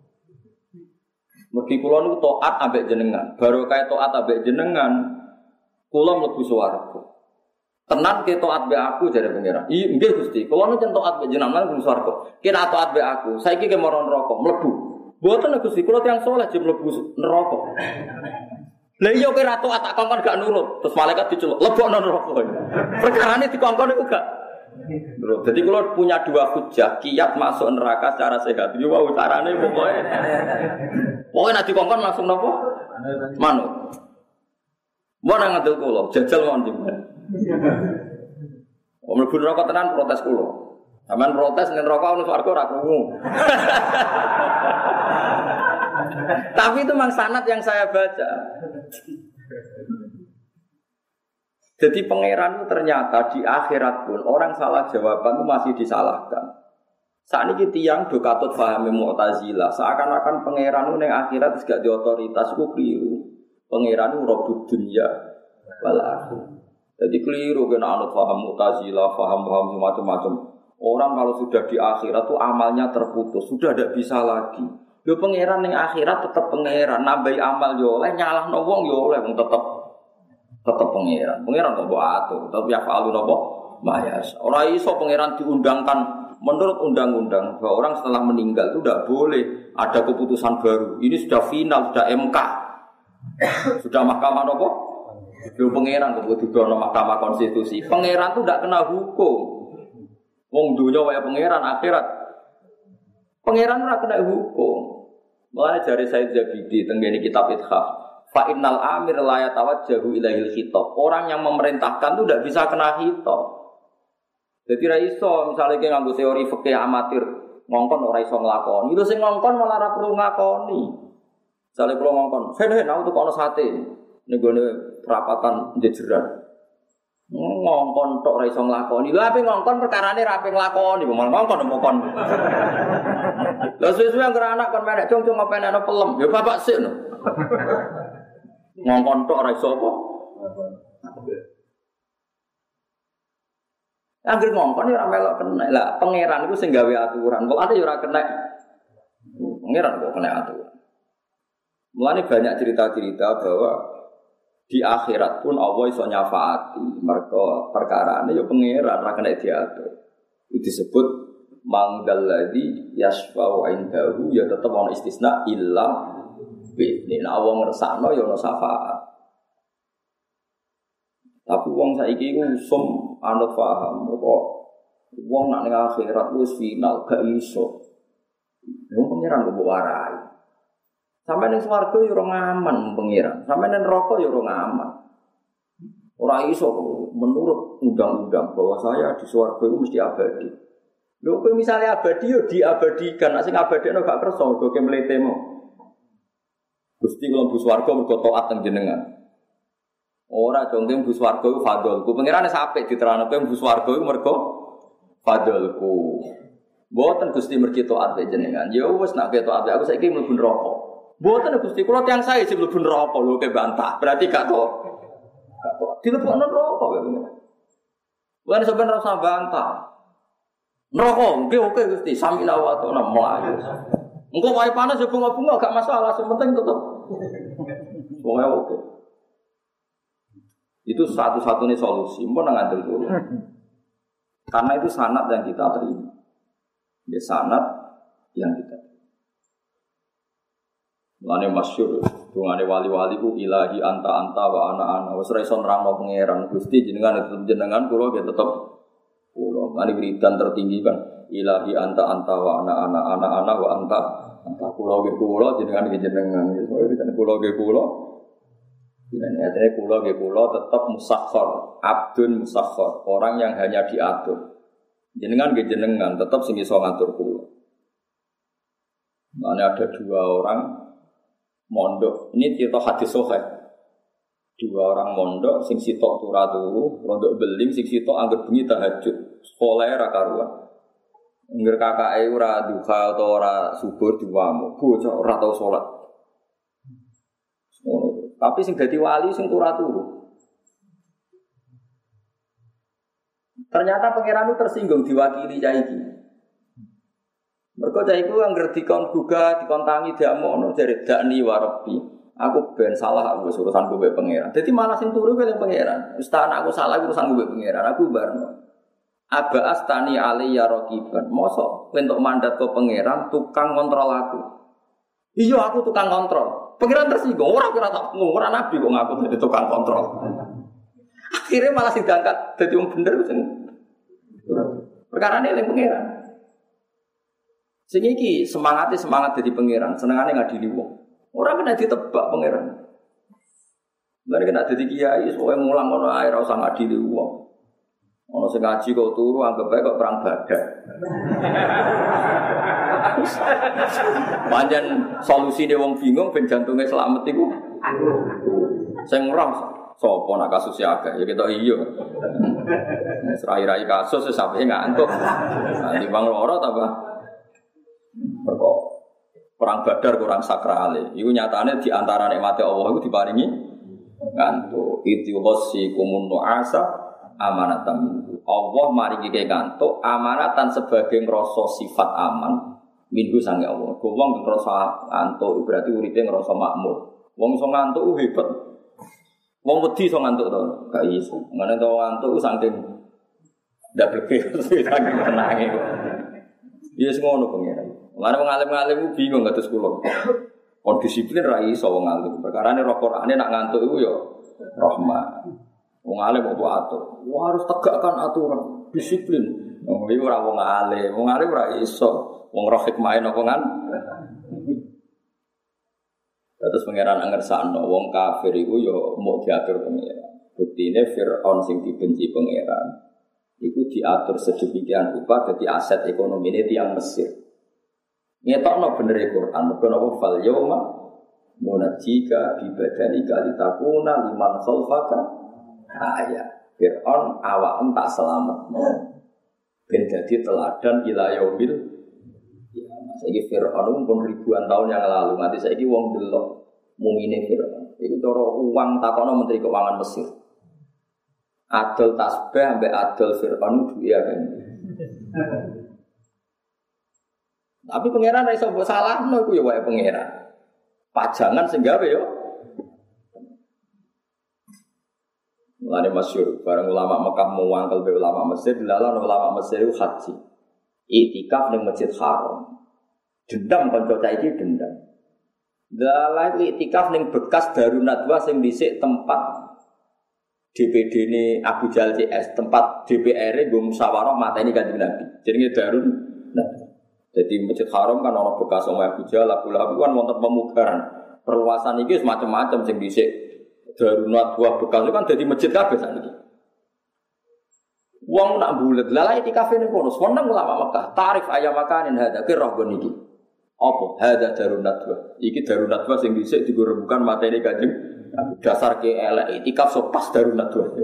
Mergi kula niku taat ambek jenengan, barokah taat ambek jenengan, kula mlebu swarga. Tenan ke taat mbek aku jare pangeran. Iya nggih Gusti, kula niku taat mbek jenengan mlebu swarga. Kira taat mbek aku, saiki ke marang neraka mlebu. Mboten Gusti, kula tiyang saleh jek mlebu neraka. Lah iya kira taat tak kongkon gak nurut, terus malaikat diceluk, lebokno neraka. Perkarane dikongkon niku gak nurut. Jadi kula punya dua hujjah, kiat masuk neraka secara sehat. Yo wae carane pokoke. Pokoke nek dikongkon langsung napa? Manut. Mun nang ngandel kula, jajal mawon jenengan. Om mlebu neraka tenan protes kula. Sampeyan protes ning neraka ono swarga ora krungu. Tapi itu memang sanad yang saya baca. Jadi pangeran itu ternyata di akhirat pun orang salah jawaban itu masih disalahkan. Saat ini tiang do katut pahami Mu'tazilah, seakan-akan pangeran itu yang akhirat gak di otoritas itu keliru. Pangeran itu robud dunia wal akhirah. Jadi keliru kena anut paham Mu'tazilah, paham-paham macam-macam. Orang kalau sudah di akhirat itu amalnya terputus, sudah tidak bisa lagi. Yo pangeran ning akhirat tetep pangeran, nambahi amal yo oleh, nyalahno wong yo oleh, wong tetep tetep pangeran. Pangeran kok mbok atur, tapi ya falu napa? Mayas. Ora iso pangeran diundangkan menurut undang-undang bahwa orang setelah meninggal itu tidak boleh ada keputusan baru. Ini sudah final, sudah M K. Sudah mahkamah napa? Yo pangeran kok didono mahkamah konstitusi. Pangeran itu tidak kena hukum. Wong dunya wae pangeran akhirat. Pangeran ora kena hukum. Mulane jare Said Zabidi tenggene kitab Ithaf, fa innal amir la yatawajjahu ilaihil khitab. Orang yang memerintahkan itu tidak bisa kena khitab. Jadi ra iso misale ki nganggo teori fikih amatir, ngongkon ora iso nglakoni. Itu sing ngongkon malah ora perlu ngakoni. Misale kula ngongkon, "Hen-hen aku tukono sate." Ning gone perapatan jejeran. Ngongkon tok ora iso nglakoni. Lha ape ngongkon perkarane ra ape nglakoni, malah ngongkon ngongkon. Lah suwe-suwe anggere anak kon menek cung-cung apa enek pelem. Ya bapak sik no. Ngongkon tok ora iso apa? Anggere ngongkon ya ora melok kena. Lah pangeran iku sing gawe aturan. Kok ate ya ora kena. Pangeran kok kena aturan. Mulane banyak cerita-cerita bahwa di akhirat pun Allah iso nyafaati mergo perkarane ya pangeran ora kena diatur. Itu disebut mangdalladzi yasfa'u indahu ya tetep ana istisna illa bi. Nek Allah ngersakno ya ana syafaat. Tapi wong saiki iku usum anut paham kok wong nek ning akhirat wis final gak iso. Wong pangeran kok warai. Sampai ning swarga ya ora ngaman pangeran. Sampai ning neraka ya ora ngaman. Ora iso menurut undang-undang bahwa saya di swarga itu mesti abadi. Lho kowe misale abadi yo diabadikan, nek sing abadine gak kersa mergo ke mletemu. Gusti kula mlebu swarga mergo taat teng jenengan. Ora jongke mlebu swarga iku fadholku. Pangerane sapik diterangno kowe mlebu swarga iku mergo fadholku. Mboten Gusti mergi taat jenengan. Ya wis nek taat aku saiki mlebu neraka. Mboten Gusti kula tiyang sae sing mlebu neraka lho ke bantah. Berarti gak to. Gak to. Dilebokno neraka kowe. Bukan sebenarnya rasa bantah. Neraka, oke oke Gusti, samina wa ta'ala mlayu. Engko wae panas yo bunga-bunga gak masalah, sing penting tetep. Pokoke oke. Itu satu-satunya solusi, mbon nang ngandel dulu. Karena itu sanad yang kita terima. Ya sanad yang kita terima. Mulane masyhur, dungane wali-wali ku ilahi anta anta wa ana ana. Wis ora iso nerangno pangeran Gusti jenengan tetep jenengan kula nggih tetep kula. Mane wiridan tertinggi kan ilahi anta anta wa ana ana ana ana wa anta anta kula nggih kula jenengan nggih jenengan. Wis wiridan kula nggih kula. Jenengan atene kula nggih kula tetep musakhkhar, abdun musakhkhar, orang yang hanya diatur. Jenengan nggih jenengan tetep sing iso ngatur kula. Mane ada dua orang mondok, ini cerita hadis sahih. Dua orang mondok, sing sitok turu turu, mondok beling, sing sitok anggere bengi tahajud. Sekolah ra karuan. Ngger kakake ora duha utawa ora subuh diwamu, bocah ora tau salat. Ngono. Tapi sing dadi wali sing turu turu. Ternyata pangeran itu tersinggung diwakili cah iki. Mergo cah iku anggere dikon gugah, dikon tangi diamono jare dakni wa rabbi. Aku ben salah aku urusanku mbek pangeran. Dadi malah sing turu kuwi pangeran. Wis tak anakku salah urusanku mbek pangeran. Aku barno. Aba astani alayya raqiban. Mosok entuk mandat ke pangeran tukang kontrol aku. Iya aku tukang kontrol. Pangeran tersinggung, ora kira tak ora nabi kok ngaku dadi tukang kontrol. Akhirnya malah sing diangkat dadi wong bener sing perkarane eling pangeran. Sing iki semangate semangat dadi pangeran, senengane ngadili wong. Ora kena ditebak pangeran. Lha kena dadi kiai sowe mulang ngono ae ora usah ngadili wong. Ono sing ngaji kok turu anggap bae kok perang badak. Pancen solusine wong bingung ben jantunge selamat iku. Sing roh sapa nak kasus akeh ya ketok iya. Wis rai-rai kasus wis sampe ngantuk. Nanti bang loro ta, Pak? Perkara perang Badar kurang sakrale. Iku nyatane di antara nikmate Allah iku diparingi ngantuk. Itu wasiqumun nu'asa amanatan minhu. Allah maringi ke ngantuk amanatan sebagai ngrasa sifat aman minhu sange Allah. Wong ngrasa ngantuk berarti uripe ngrasa makmur. Wong iso ngantuk hebat. Wong wedi iso ngantuk to, gak iso. Ngene to ngantuk saking ndak bleke saking tenange. Ya wis ngono pengen. Lan wong alim-alim bingung kados kula. Kon disiplin ra iso wong alim. Perkarane roh Qur'ane nak ngantuk iku ya rahmat. Wong alim kok atur. Wah harus tegakkan aturan, disiplin. Wong iki ora wong alim. Wong alim ora iso. Wong roh hikmahe napa kan? Terus pangeran angersakno wong kafir iku ya mau diatur pangeran. Buktine Firaun sing dibenci pangeran iku diatur sedemikian rupa dadi aset ekonomine tiyang Mesir. Ngetokno bener Al-Qur'an, mergo napa fal yauma munajjika bi badanika litakuna liman khalfaka ayat. Firaun awakmu tak selametno ben dadi teladan ila yaumil ya, saiki Firaun pun ribuan tahun yang lalu, nanti saiki wong delok mumine Firaun. Iku cara uang takono menteri keuangan Mesir. Adol tasbih ambek adol Firaun duwe kan. Tapi pangeran ra iso mbok salahno iku ya wae pangeran. Pajangan sing gawe yo. Mulane masyhur bareng ulama Mekah muwangkel be ulama Mesir, dilalah ulama Mesir itu haji. Iktikaf ning Masjid Haram. Dendam kanca cah iki dendam. Dalah iktikaf ning bekas Darun Nadwa sing dhisik tempat D P D-ne Abu Jahal C S, tempat D P R-e nggo musyawarah mateni Kanjeng Nabi. Jenenge Darun Nadwa. Jadi Masjid Haram kan ana bekas omah Abu Jahal, Abu Lahab kan wonten pemugaran. Perluasan iki wis macam-macam sing dhisik Darun Nadwa bekas kan dadi masjid kabeh sakniki. Wong nak bulet, lah itikaf ning kono. Seneng ulama Mekah. Tarif ayam makanin hada ki roh gon iki. Apa? Hada darun nadwa. Iki darun nadwa sing dhisik digorebukan materi Kanjeng. Dasar ke elek itikaf so pas darun nadwa.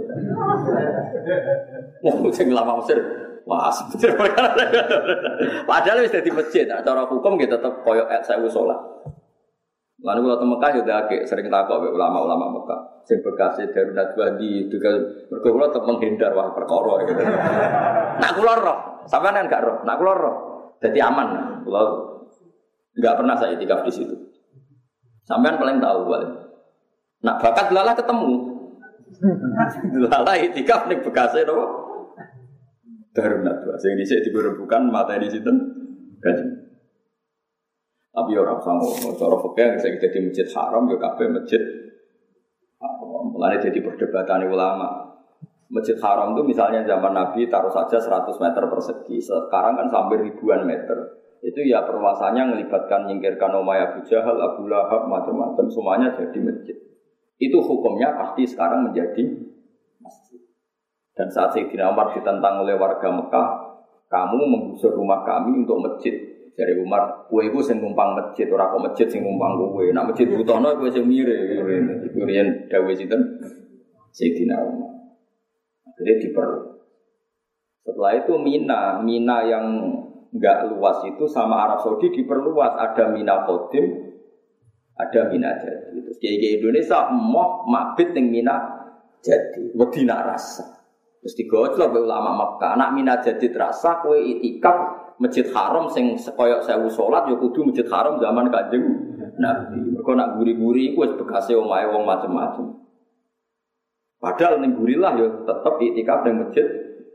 Wong sing ulama Mesir. Wah, bener. Padahal wis dadi masjid, cara hukum nggih tetep koyo sewu salat. Lalu kalau teng Mekah juga agak sering takok be ulama-ulama Mekah. Sing bekas Darun Nadwa di juga mergo kula tetep menghindar wah perkara gitu. Nak kula roh, sampean kan gak roh. Nak kula roh, dadi aman. Kula enggak pernah saya itikaf di situ. Sampean paling tahu paling. Nak bakat lalah ketemu. Lalah itikaf ning bekase napa? Darun Nadwa. Sing dhisik diburebukan materi sinten? Kanjeng. Tapi orang sama, cara fikih saya jadi masjid haram, ya kabeh masjid haram. Mulanya jadi perdebatan ulama. Masjid haram itu misalnya zaman Nabi taruh saja seratus meter persegi. Sekarang kan sampai ribuan meter. Itu ya perluasannya melibatkan nyingkirkan Umayyah Abu Jahal, Abu Lahab, macam-macam semuanya jadi masjid. Itu hukumnya pasti sekarang menjadi masjid. Dan saat Sayyidina Umar ditentang oleh warga Mekah, kamu menggusur rumah kami untuk masjid. Dari Umar, kue itu sing numpang masjid, ora kok masjid sing numpang kue. Nak masjid butono kue sing mire, iku riyen dawuh sinten? Sayyidina Umar. Jadi diperlu. Setelah itu Mina, Mina yang enggak luas itu sama Arab Saudi diperluas, ada Mina Qadim, ada Mina Jadi. Terus kiai Indonesia emoh mabit ning Mina Jadi, wedi nak rasa. Terus digojlok be ulama Makkah, anak Mina Jadi terasa kue itikaf Masjid Haram sing koyok sewu salat ya kudu Masjid Haram zaman Kanjeng Nabi. Mergo nak guri-guri iku wis bekase omahe wong macem-macem. Padahal ning gurilah ya tetep iktikaf ning masjid.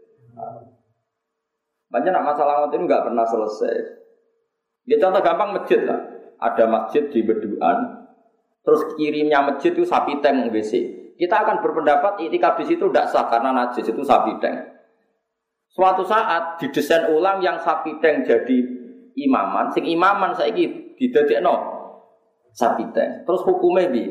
Banyak nak masalah ngoten enggak pernah selesai. Ya contoh gampang masjid lah. Ada masjid di Beduan. Terus kirimnya masjid itu sapi tank W C. Kita akan berpendapat iktikaf di situ tidak sah karena najis itu sapi tank. Suatu saat didesain ulang yang sapi tank jadi imaman, sing imaman saiki didadekno sapi tank. Terus hukumnya bi,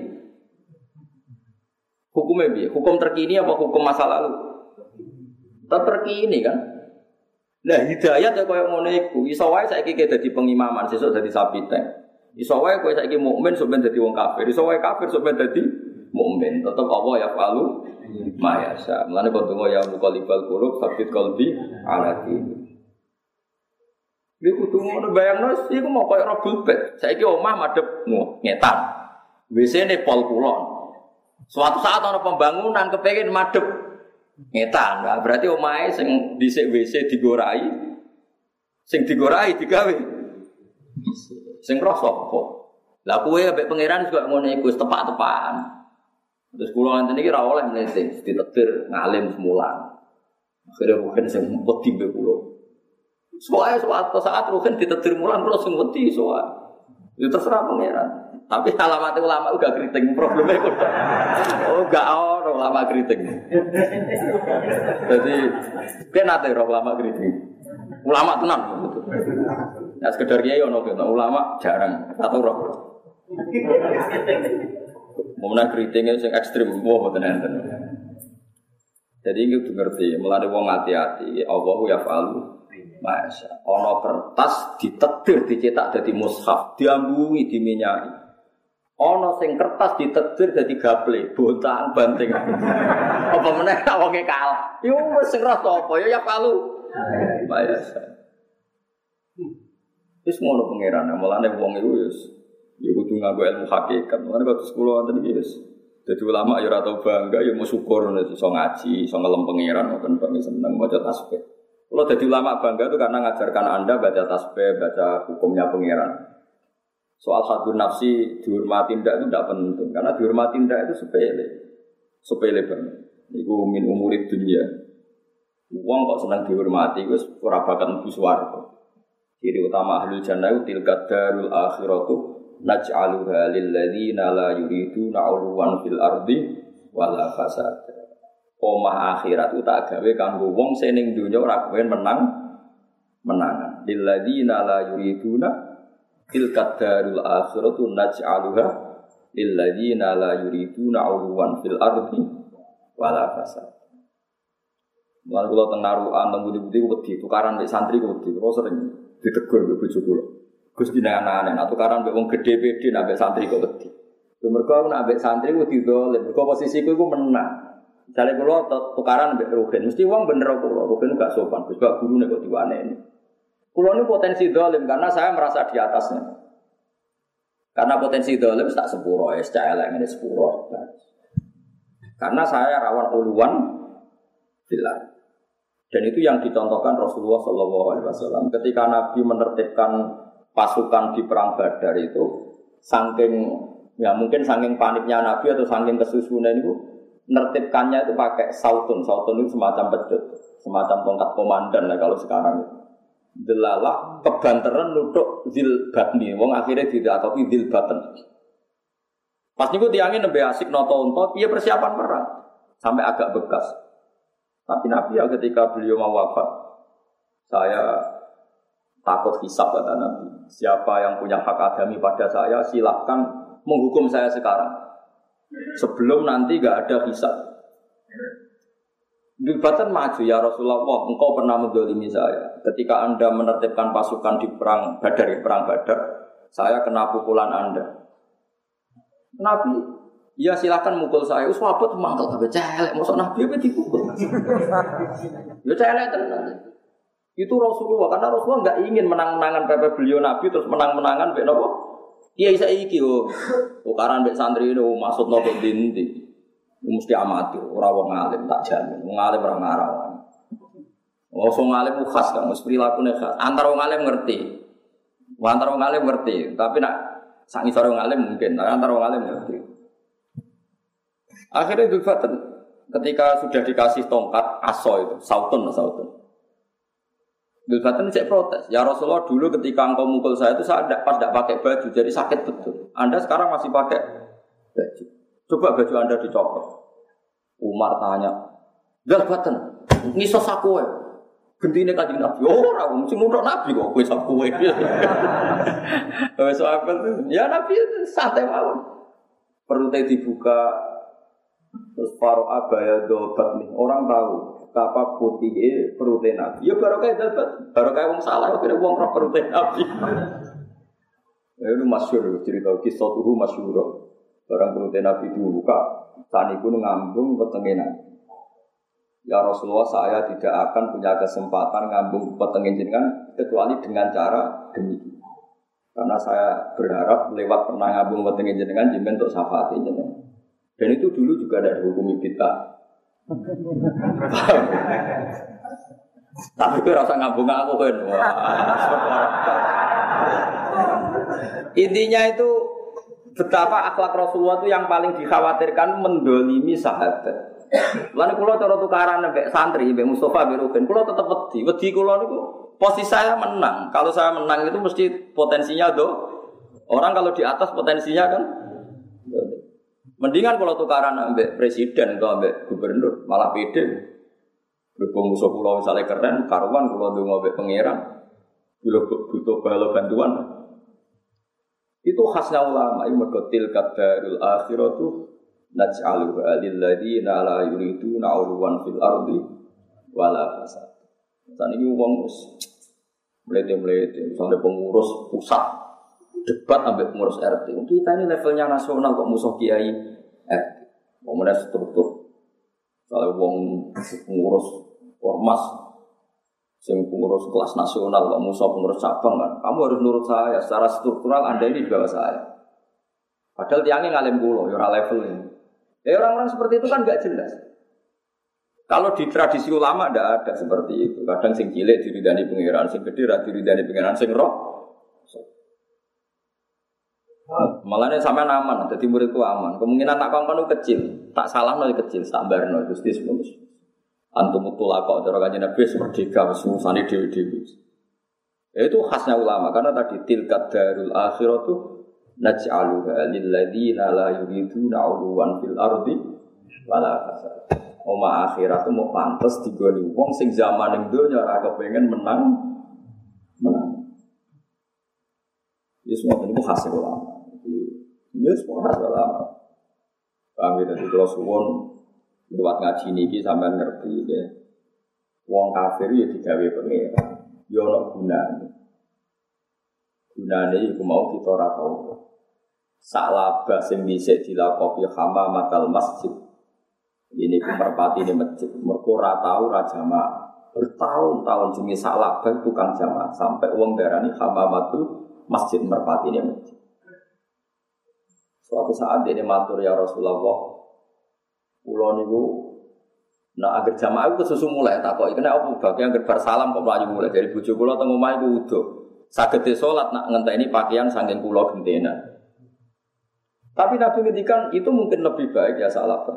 hukumnya bi, hukum terkini apa hukum masa lalu? Terkini kan? Nah hidayat ya koyo ngono iku. Iso wae saiki dadi pengimaman, sesuk dadi sapi tank. Iso wae kowe saiki mukmin sok ben dadi wong kafir. Iso wae kafir sok ben dadi mukmin. Tetep Allah ya falu mayasa. Mulane kok donga ya muqallibal qulub sabit qalbi ala dini. Iku kudu ngono bayangno iku mau koyo robul bed. Saiki omah madhep ngetan. W C-ne pol kulon. Suatu saat ana pembangunan kepengin madhep ngetan. Nah, berarti omahe sing dhisik W C digorai sing digorai digawe sing roh sapa. Lah kowe ambek pangeran juga ngono iku tepak-tepakan. Terus kula ngenten iki ora oleh mlete, ditetir ngalim semulan. Akhire rugen sing wedi mbek kula. Soale suatu saat rugen ditetir mulan kula sing wedi soal. Ya terserah pangeran. Tapi alamat ulama uga kriting probleme kok. Oh, gak ono ulama kriting. Jadi ben ate ulama kriting. Ulama tenan gitu. Nah, sekedar kiai ono kene ulama jarang atau roh. Mumna kritingnya sing ekstrim, wah mboten enten. Jadi iki kudu ngerti, mulane wong hati-hati, Allahu yaf'alu masya. Ana kertas ditetir dicetak dadi mushaf, diambungi diminyaki. Ana sing kertas ditetir dadi gaple, bontang banting. Apa meneh wonge kalah. Yo wis sing rasa apa ya yaf'alu masya. Wis ngono pangeran, mulane wong iku wis ya kudu nganggo ilmu hakikat. Mulane kok sekolah wonten iki wis dadi ulama ya ora tau bangga ya mau syukur iso ngaji, iso ngelem pangeran ngoten kok seneng maca tasbih. Kalau dadi ulama bangga itu karena ngajarkan Anda baca tasbih, baca hukumnya pangeran. Soal hadun nafsi dihormati ndak itu tidak penting karena dihormati ndak itu sepele. Sepele banget. Iku min umurid dunia. Wong kok seneng dihormati wis ora bakal mlebu swarga. Ciri utama ahlul jannah itu tilka darul akhiratu naj'aluha lil ladzina la yuriduna 'uluwan fil ardi wala fasad. Omah akhirat itu tak gawe kanggo wong sing ning donya ora kepen menang menangan. Lil ladzina la yuriduna tilka darul akhiratu naj'aluha lil ladzina la yuriduna 'uluwan fil ardi wala fasad. Mulane kula teng narukan teng budi-budi wedi tukaran mek santri wedi. Kula sering ditegur mbek bojo kula. Gus dinane-ane nek tukaran mek wong gedhe pede nek mek santri kok wedi. Lha mergo aku nek mek santri wedi dolen, mergo posisiku iku menang. Jare kula tukaran mbek Ruhin, mesti wong bener kula, Ruhin gak sopan, Gus gak gurune kok diwaneni. Kula ini potensi dolim karena saya merasa di atasnya. Karena potensi dolim tak sepuro, ya secara elek ngene sepuro. Karena saya rawan uluan bilang. Dan itu yang dicontohkan Rasulullah Shallallahu Alaihi Wasallam ketika Nabi menertibkan pasukan di perang Badar itu, saking ya mungkin saking paniknya Nabi atau saking kesusunan itu, menertibkannya itu pakai sautun, sautun itu semacam pecut, semacam tongkat komandan lah kalau sekarang itu. Delalah kebanteran nutuk zil batni, wong akhirnya tidak atau zil baten. Pas niku tiangin nembe asik noto-onto, dia persiapan perang sampai agak bekas. Tapi Nabi ya ketika beliau mau wafat, saya takut hisab kata Nabi. Siapa yang punya hak adami pada saya, silahkan menghukum saya sekarang. Sebelum nanti enggak ada hisab. Dibatan maju ya Rasulullah, engkau pernah menzalimi saya. Ketika Anda menertibkan pasukan di perang Badar, ya, perang Badar, saya kena pukulan Anda. Nabi, ya silakan mukul saya. Uswabut mangkel kabeh celek, mosok Nabi apa dipukul. Ya celek tenan. Itu Rasulullah, karena Rasulullah enggak ingin menang-menangan pepe beliau Nabi terus menang-menangan mbek napa? Kiai saiki yo. Tukaran mbek santri itu maksud nopo dinti. Mesti amatir, ora wong alim tak jamin. Wong alim ora ngarawan. Wong alim khas kan, mesti prilakune khas. Antara wong alim ngerti. Antara wong alim ngerti, tapi nak sak ngisor wong alim mungkin, tapi antara wong alim ngerti. Akhirnya Dzul Fatan ketika sudah dikasih tongkat aso itu, sautun sautun. Dzul Fatan cek protes. Ya Rasulullah, dulu ketika engkau mukul saya itu saya pas tidak pakai baju, jadi sakit betul. Anda sekarang masih pakai baju. Coba baju Anda dicopot. Umar tanya, Dzul Fatan, ngisos aku wae. Gentine Kanjeng Nabi. Oh, ora mesti nutuk Nabi kok kowe sak kowe. Wes apa tuh? Ya Nabi santai mawon. Perutnya dibuka terus paro abaya dobat nih. Orang tahu betapa putihnya perutnya Nabi. Ya baru kayak dapat, baru kayak wong salah kira wong roh perutnya Nabi. Itu masyhur cerita kisah tuh masyhur. Barang perutnya Nabi dibuka, saniku ngambung petenge Nabi. Ya Rasulullah, saya tidak akan punya kesempatan ngambung petenge jenengan kecuali dengan cara demikian. Karena saya berharap lewat pernah ngambung petenge jenengan jenengan untuk syafaat jenengan. Dan itu dulu juga ada dihukumi bid'ah. Tapi kowe rasa ngambung aku kan. Intinya itu betapa akhlak Rasulullah itu yang paling dikhawatirkan mendolimi sahabat. Lalu kalau cara tukaran mbek santri, mbek Mustafa, mbek Ruben, kalau tetap wedi, wedi kalau niku posisi saya menang. Kalau saya menang itu mesti potensinya do. Orang kalau di atas potensinya kan. Mendingan kalau tukaran mbek presiden atau mbek gubernur, malah pede. Berhubung musuh pulau misalnya keren, karuan kalau dongo mbek pangeran, butuh butuh bala bantuan. Itu khasnya ulama, ini mergotil kadarul akhiratu. Naj'alu lil ladzina la yuriduna 'uluwan fil ardi wala fasad. Saniki wong wis mlete-mlete sampe pengurus pusat debat ambek pengurus R T. Kita ini levelnya nasional kok musuh kiai R T. Wong menes struktur. Kalau wong pengurus ormas sing pengurus kelas nasional kok musuh pengurus cabang kan. Kamu harus nurut saya secara struktural, Anda ini di bawah saya. Padahal tiangnya ngalim kula ya ora level ini. Ya orang-orang seperti itu kan enggak jelas. Kalau di tradisi ulama enggak ada seperti itu. Kadang sing cilik diridani pangeran, sing gedhe ra diridani pangeran, sing roh. Malahnya sampean aman, dadi muridku aman. Kemungkinan tak kongkon kecil, tak salahno kecil, tak barno Gusti semono. Antum tulaqah cara kanjeng Nabi merdeka wis ngusani dhewe-dhewe. Itu khasnya ulama karena tadi tilkat darul akhiratu naj'aluha lil ladzina la yuriduna 'uluwan fil ardi wala fasad. Oma akhirat mau pantes digoni wong sing zaman ning donya ora kepengin menang menang. Yes, semua itu khas ulama. Yes, semua khas ulama. Kami tadi kalau suwon lewat ngaji niki sampean ngerti ya. wong kafir ya digawe pangeran. Ya ana gunane. Gunane iku mau kita ora tau. Salabah sing dhisik dilakopi hamamatal masjid. Ini pemerpati ini masjid. Mergo ora tau ora jamaah. Bertahun-tahun jenenge salabah tukang jamaah sampai wong darani hamamatul masjid merpati ini masjid. Suatu saat dia matur ya Rasulullah. Kula niku nah agar jamaah itu susu mulai takoki kena apa bagian gerbar salam kok mlayu mulai dari bojo kula teng omah iku wudu. Saged salat nak ngenteni pakaian saking kula gentena. Tapi Nabi ngendikan itu mungkin lebih baik ya salabah.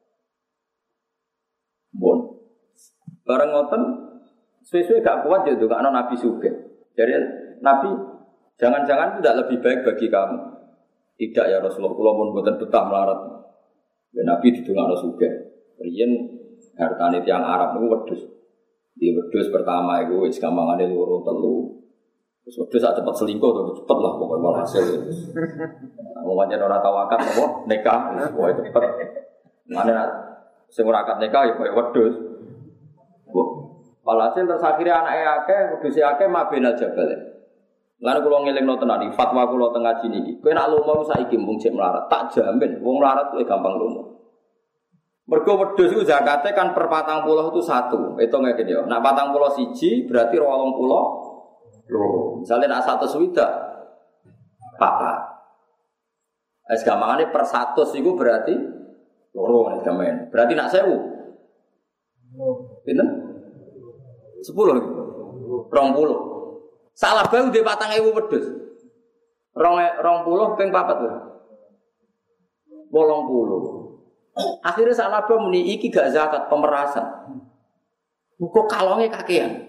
Bon. Bareng ngoten suwe-suwe gak kuat ya gak ana Nabi sugih. Jadi Nabi jangan-jangan tidak lebih baik bagi kamu. Tidak ya Rasulullah kula pun mboten betah melarat. Ya Nabi didongakno sugih. Riyen hartane tiyang Arab niku wedhus. Di wedhus pertama iku wis gampangane loro telu. Wis wedhus sak cepet selingkuh to cepet lah pokoke walhasil. Wong pancen ora tau akad apa nikah wis cepet. Mane sing ora akad nikah ya koyo wedhus. Walhasil terus akhire anake akeh, wedhuse akeh mabena jabal. Lan kula ngelingno tenan iki fatwa kula teng ngaji niki. Kowe nek lomo saiki mung cek melarat, tak jamin wong melarat kuwi gampang lomo. Mergo wedhus iku zakate kan per patang puluh itu satu. Hitung ngene ya. Nek patang puluh siji berarti rong puluh loro. Misale nek seratus swidak papat. Es gampangane per seratus iku berarti loro nek gamen. Berarti nek seribu. Pinten? sepuluh. dua puluh. Salah bae ndek patang ewu wedhus. dua puluh ping papat lho. delapan puluh. Akhirnya salah bae muni iki gak zakat pemerasan. Kok kalonge kakean.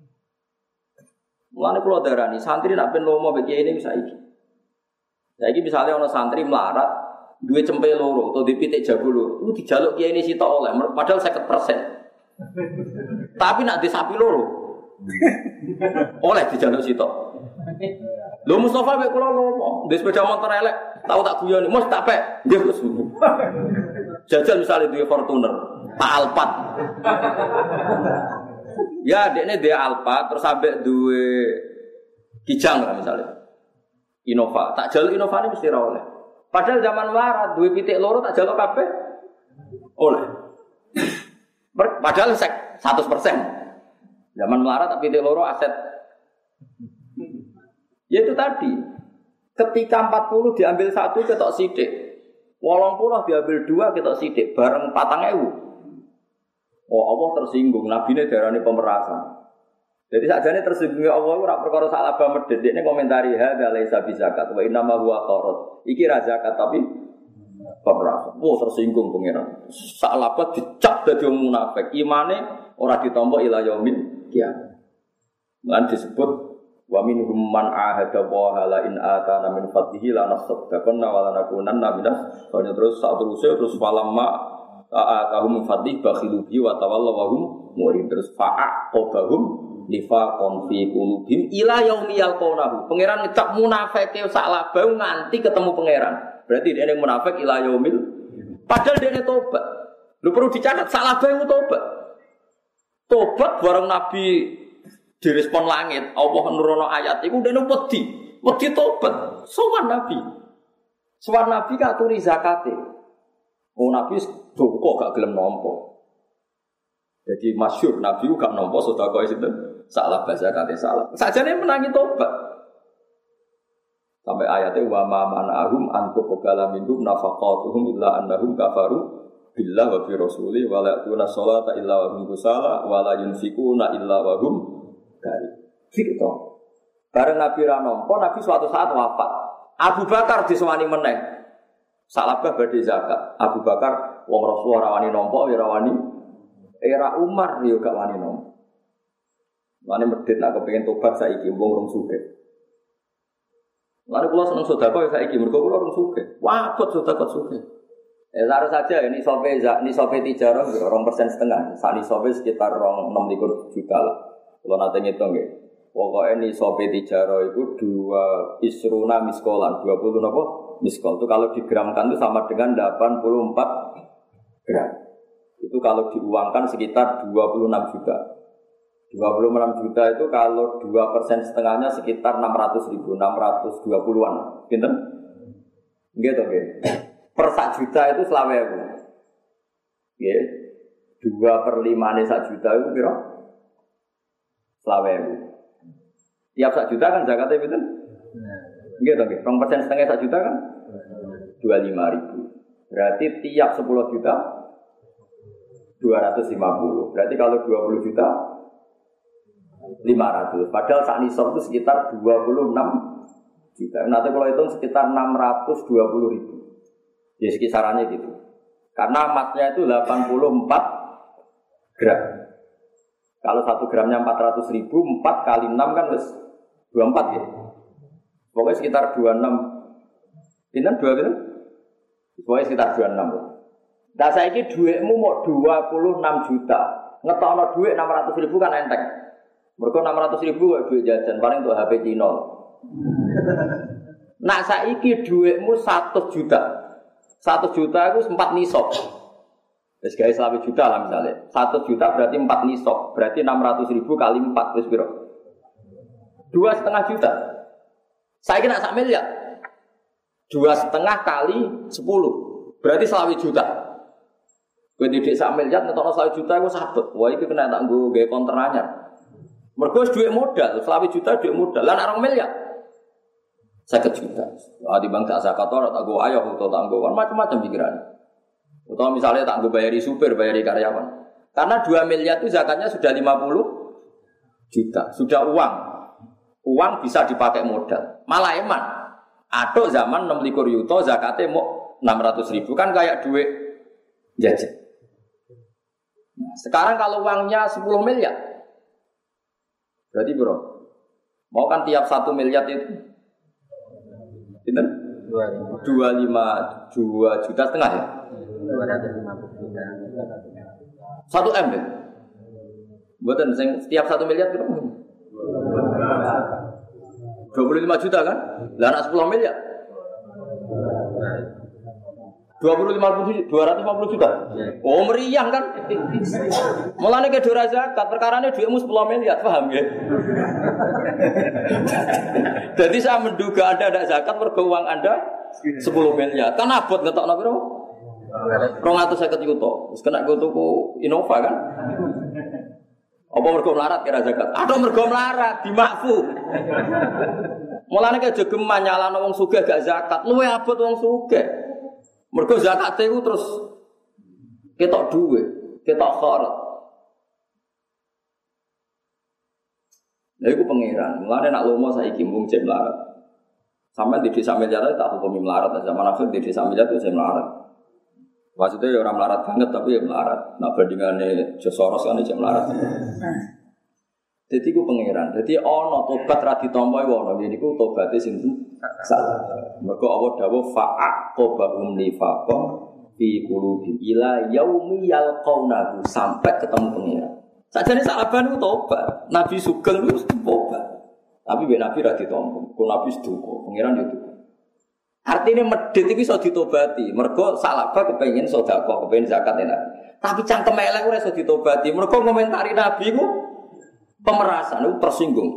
Mulane kula darani santri nek ben lomo beki ini bisa iki. Saiki misale ana santri melarat duwe cempe loro utawa dipitik jago loro, ku dijaluk kiai ini sitok oleh padahal lima puluh persen. Tapi nak di sapi loro. Oleh dijaluk sitok. Lho Mustofa mek kula lomo, ndek sepeda motor elek, tau tak guyoni, "Mus tak pek." Nggih, Gus. Jajal misalnya duwe Fortuner, Pak Alphard. Ya, dekne duwe Alphard terus sampe duwe Kijang lah misalnya. Innova, tak jaluk Innova ini mesti ra oleh. Padahal zaman melarat duwe pitik loro tak jaluk kabeh oleh. Padahal seratus persen. Zaman melarat tapi pitik loro aset. Ya itu tadi. Ketika empat puluh diambil satu ketok sithik. delapan puluh diambil dua ketok sithik bareng patang ewu. Oh Allah tersinggung, nabine darani pemerasan. Jadi sakjane tersinggung Allah ora perkara salabah medhit. Dekne komentari hadza laisa bizakat wa inna ma huwa qarat. Iki ra zakat tapi pemerasan. Oh tersinggung pangeran. Salabah dicap dadi wong munafik. Imane ora ditampa ila yaumil kiamat. Lan disebut wa minhum man ahada wa hala in atana min fadlihi la nasaddaqanna wa la nakunanna minas soalnya terus saat terus terus falamma atahum fadlih bakhilu bi wa tawallaw wa hum murid terus fa'aqabahum nifaqan fi qulubihim ila yaumi yalqawnahu. Pangeran ngecap munafike salabah nganti ketemu pangeran. Berarti dia yang munafik ila yaumil padahal dia tobat. Lu perlu dicatat salabah itu tobat. Tobat bareng Nabi direspon langit, Allah nurono ayat iku dene wedi, wedi tobat. Sowan Nabi. Sowan Nabi katuri zakate. Oh Nabi kok gak gelem nampa. Jadi masyhur Nabi gak nampa sedekah sinten? Salah zakate salah. Sajane menangi tobat. Sampai ayatnya wa ma manahum antuk qabala minhum nafaqatuhum illa annahum kafaru billah wa bi rasuli wa la ya'tuna sholata illa wa hum kusala wa la yunfikuna illa wa hum dari gitu. Bareng Nabi ra nampa, Nabi suatu saat wafat. Abu Bakar disewani meneh. Salabah badhe zakat. Abu Bakar wong Rasul ora wani nampa, ora wani. Era Umar yo gak wani nampa. Mane medhit nek kepengin tobat saiki wong rong sugih. Mane kula seneng sedekah saiki mergo kula rong sugih. Wabot sedekah sugih. Eh taruh saja ini sope ini sope tijarah dua persen setengah. Saat ini sope sekitar enam likur juta lah. Kalau nanti ngitung ya, pokoknya ini sope tijaro itu dua isruna miskolan, dua puluh apa miskol itu kalau digramkan itu sama dengan delapan puluh empat gram. Itu kalau diuangkan sekitar dua puluh enam juta. dua puluh enam juta itu kalau dua persen setengahnya sekitar enam ratus ribu, enam ratus dua puluhan. Pinten? Gitu, oke. Per sak juta itu selawe aku. Ya, dua per lima nih sak juta itu kira selawe aku. Tiap sak juta kan zakatnya pinten? Gitu, oke. Rong persen setengah sak juta kan? Dua lima ribu. Berarti tiap sepuluh juta dua ratus lima puluh. Berarti kalau dua puluh juta lima ratus. Padahal saat nisab itu sekitar dua puluh enam juta. Nanti kalau hitung sekitar enam ratus dua puluh ribu. Ya sekisarannya gitu. Karena emasnya itu delapan puluh empat gram. Kalau satu gramnya empat ratus ribu, empat kali enam kan harus dua puluh empat ya. Pokoknya sekitar dua puluh enam. Ini dua gitu? Pokoknya sekitar dua puluh enam. Nah saya ini duitmu mau dua puluh enam juta. Ngetokno duit enam ratus ribu kan enteng. Mereka enam ratus ribu kok duit jajan, paling untuk H P Cino. Nak saiki duitmu satu juta. satu juta itu empat nisab. Wis gawe selawe juta lah misalnya. satu juta berarti empat nisab. Berarti enam ratus ribu kali empat wis piro? dua koma lima juta. Saiki nak sak miliar. dua koma lima kali sepuluh. Berarti selawe juta. Kowe didik sak miliar ngetokno selawe juta iku sabet. Wah iki kena tak nggo gawe konter anyar. Mergo duit modal, selawe juta duit modal. Lah nek rong miliar seket juta. Ah di bank tak zakat ora tak go ayo utawa tak go macam-macam pikiran. Utawa misalnya tak go bayari supir, bayari karyawan. Karena dua miliar itu zakatnya sudah lima puluh juta. Sudah uang. Uang bisa dipakai modal. Malah eman. Aduk zaman enam puluh yuto zakatnya mau enam ratus ribu kan kayak duit jajan. Sekarang kalau uangnya sepuluh miliar. Berarti bro, mau kan tiap satu miliar itu Pinten? dua puluh lima dua juta setengah ya? dua ratus lima puluh juta. satu M ya? Buatan setiap satu miliar berapa? dua puluh lima juta kan? Lah anak sepuluh miliar. dua puluh lima dua ratus lima puluh juta. Oh meriang kan? Mulane ke dora zakat, perkarane duitmu sepuluh miliar, paham ya? Jadi saya menduga Anda ada zakat mergo uang Anda sepuluh miliar. Kan abot ngetokno piro? dua ratus lima puluh juta. Wis kena go tuku Innova kan? Apa mergo melarat kira zakat? Aduh mergo melarat dimakfu. Mulane ke jogeman nyalano wong sugih gak zakat, luwe abot wong sugih. Mergo zakat itu terus ketok duit, ketok kharat. Lha iku pangeran. Mulane nak lomo saiki mung cek melarat. Sampai di desa miliar tak hukumi melarat, zaman akhir di desa miliar itu saya melarat. Maksudnya ya orang melarat banget tapi ya melarat. Nah bandingannya Josoros kan aja melarat. Jadi ku pangeran. Jadi ono tobat ra ditampa ono. Jadi ku tobate sing salah. Mergo Allah dawuh fa'aqobahum nifaqan fi qulubihim ila yaumi yalqaunahu sampai ketemu pangeran. Sajane sahabat ku tobat. Nabi Sugeng ku tobat. Tapi ben Nabi ra ditampa. Ku Nabi seduka, pangeran yo tobat. Artine medhit iki iso ditobati. Mergo sahabat kepengin sedekah, kepengin zakat Nabi. Tapi cangkem elek ora iso ditobati. Mergo komentari Nabi ku pemerasan itu tersinggung.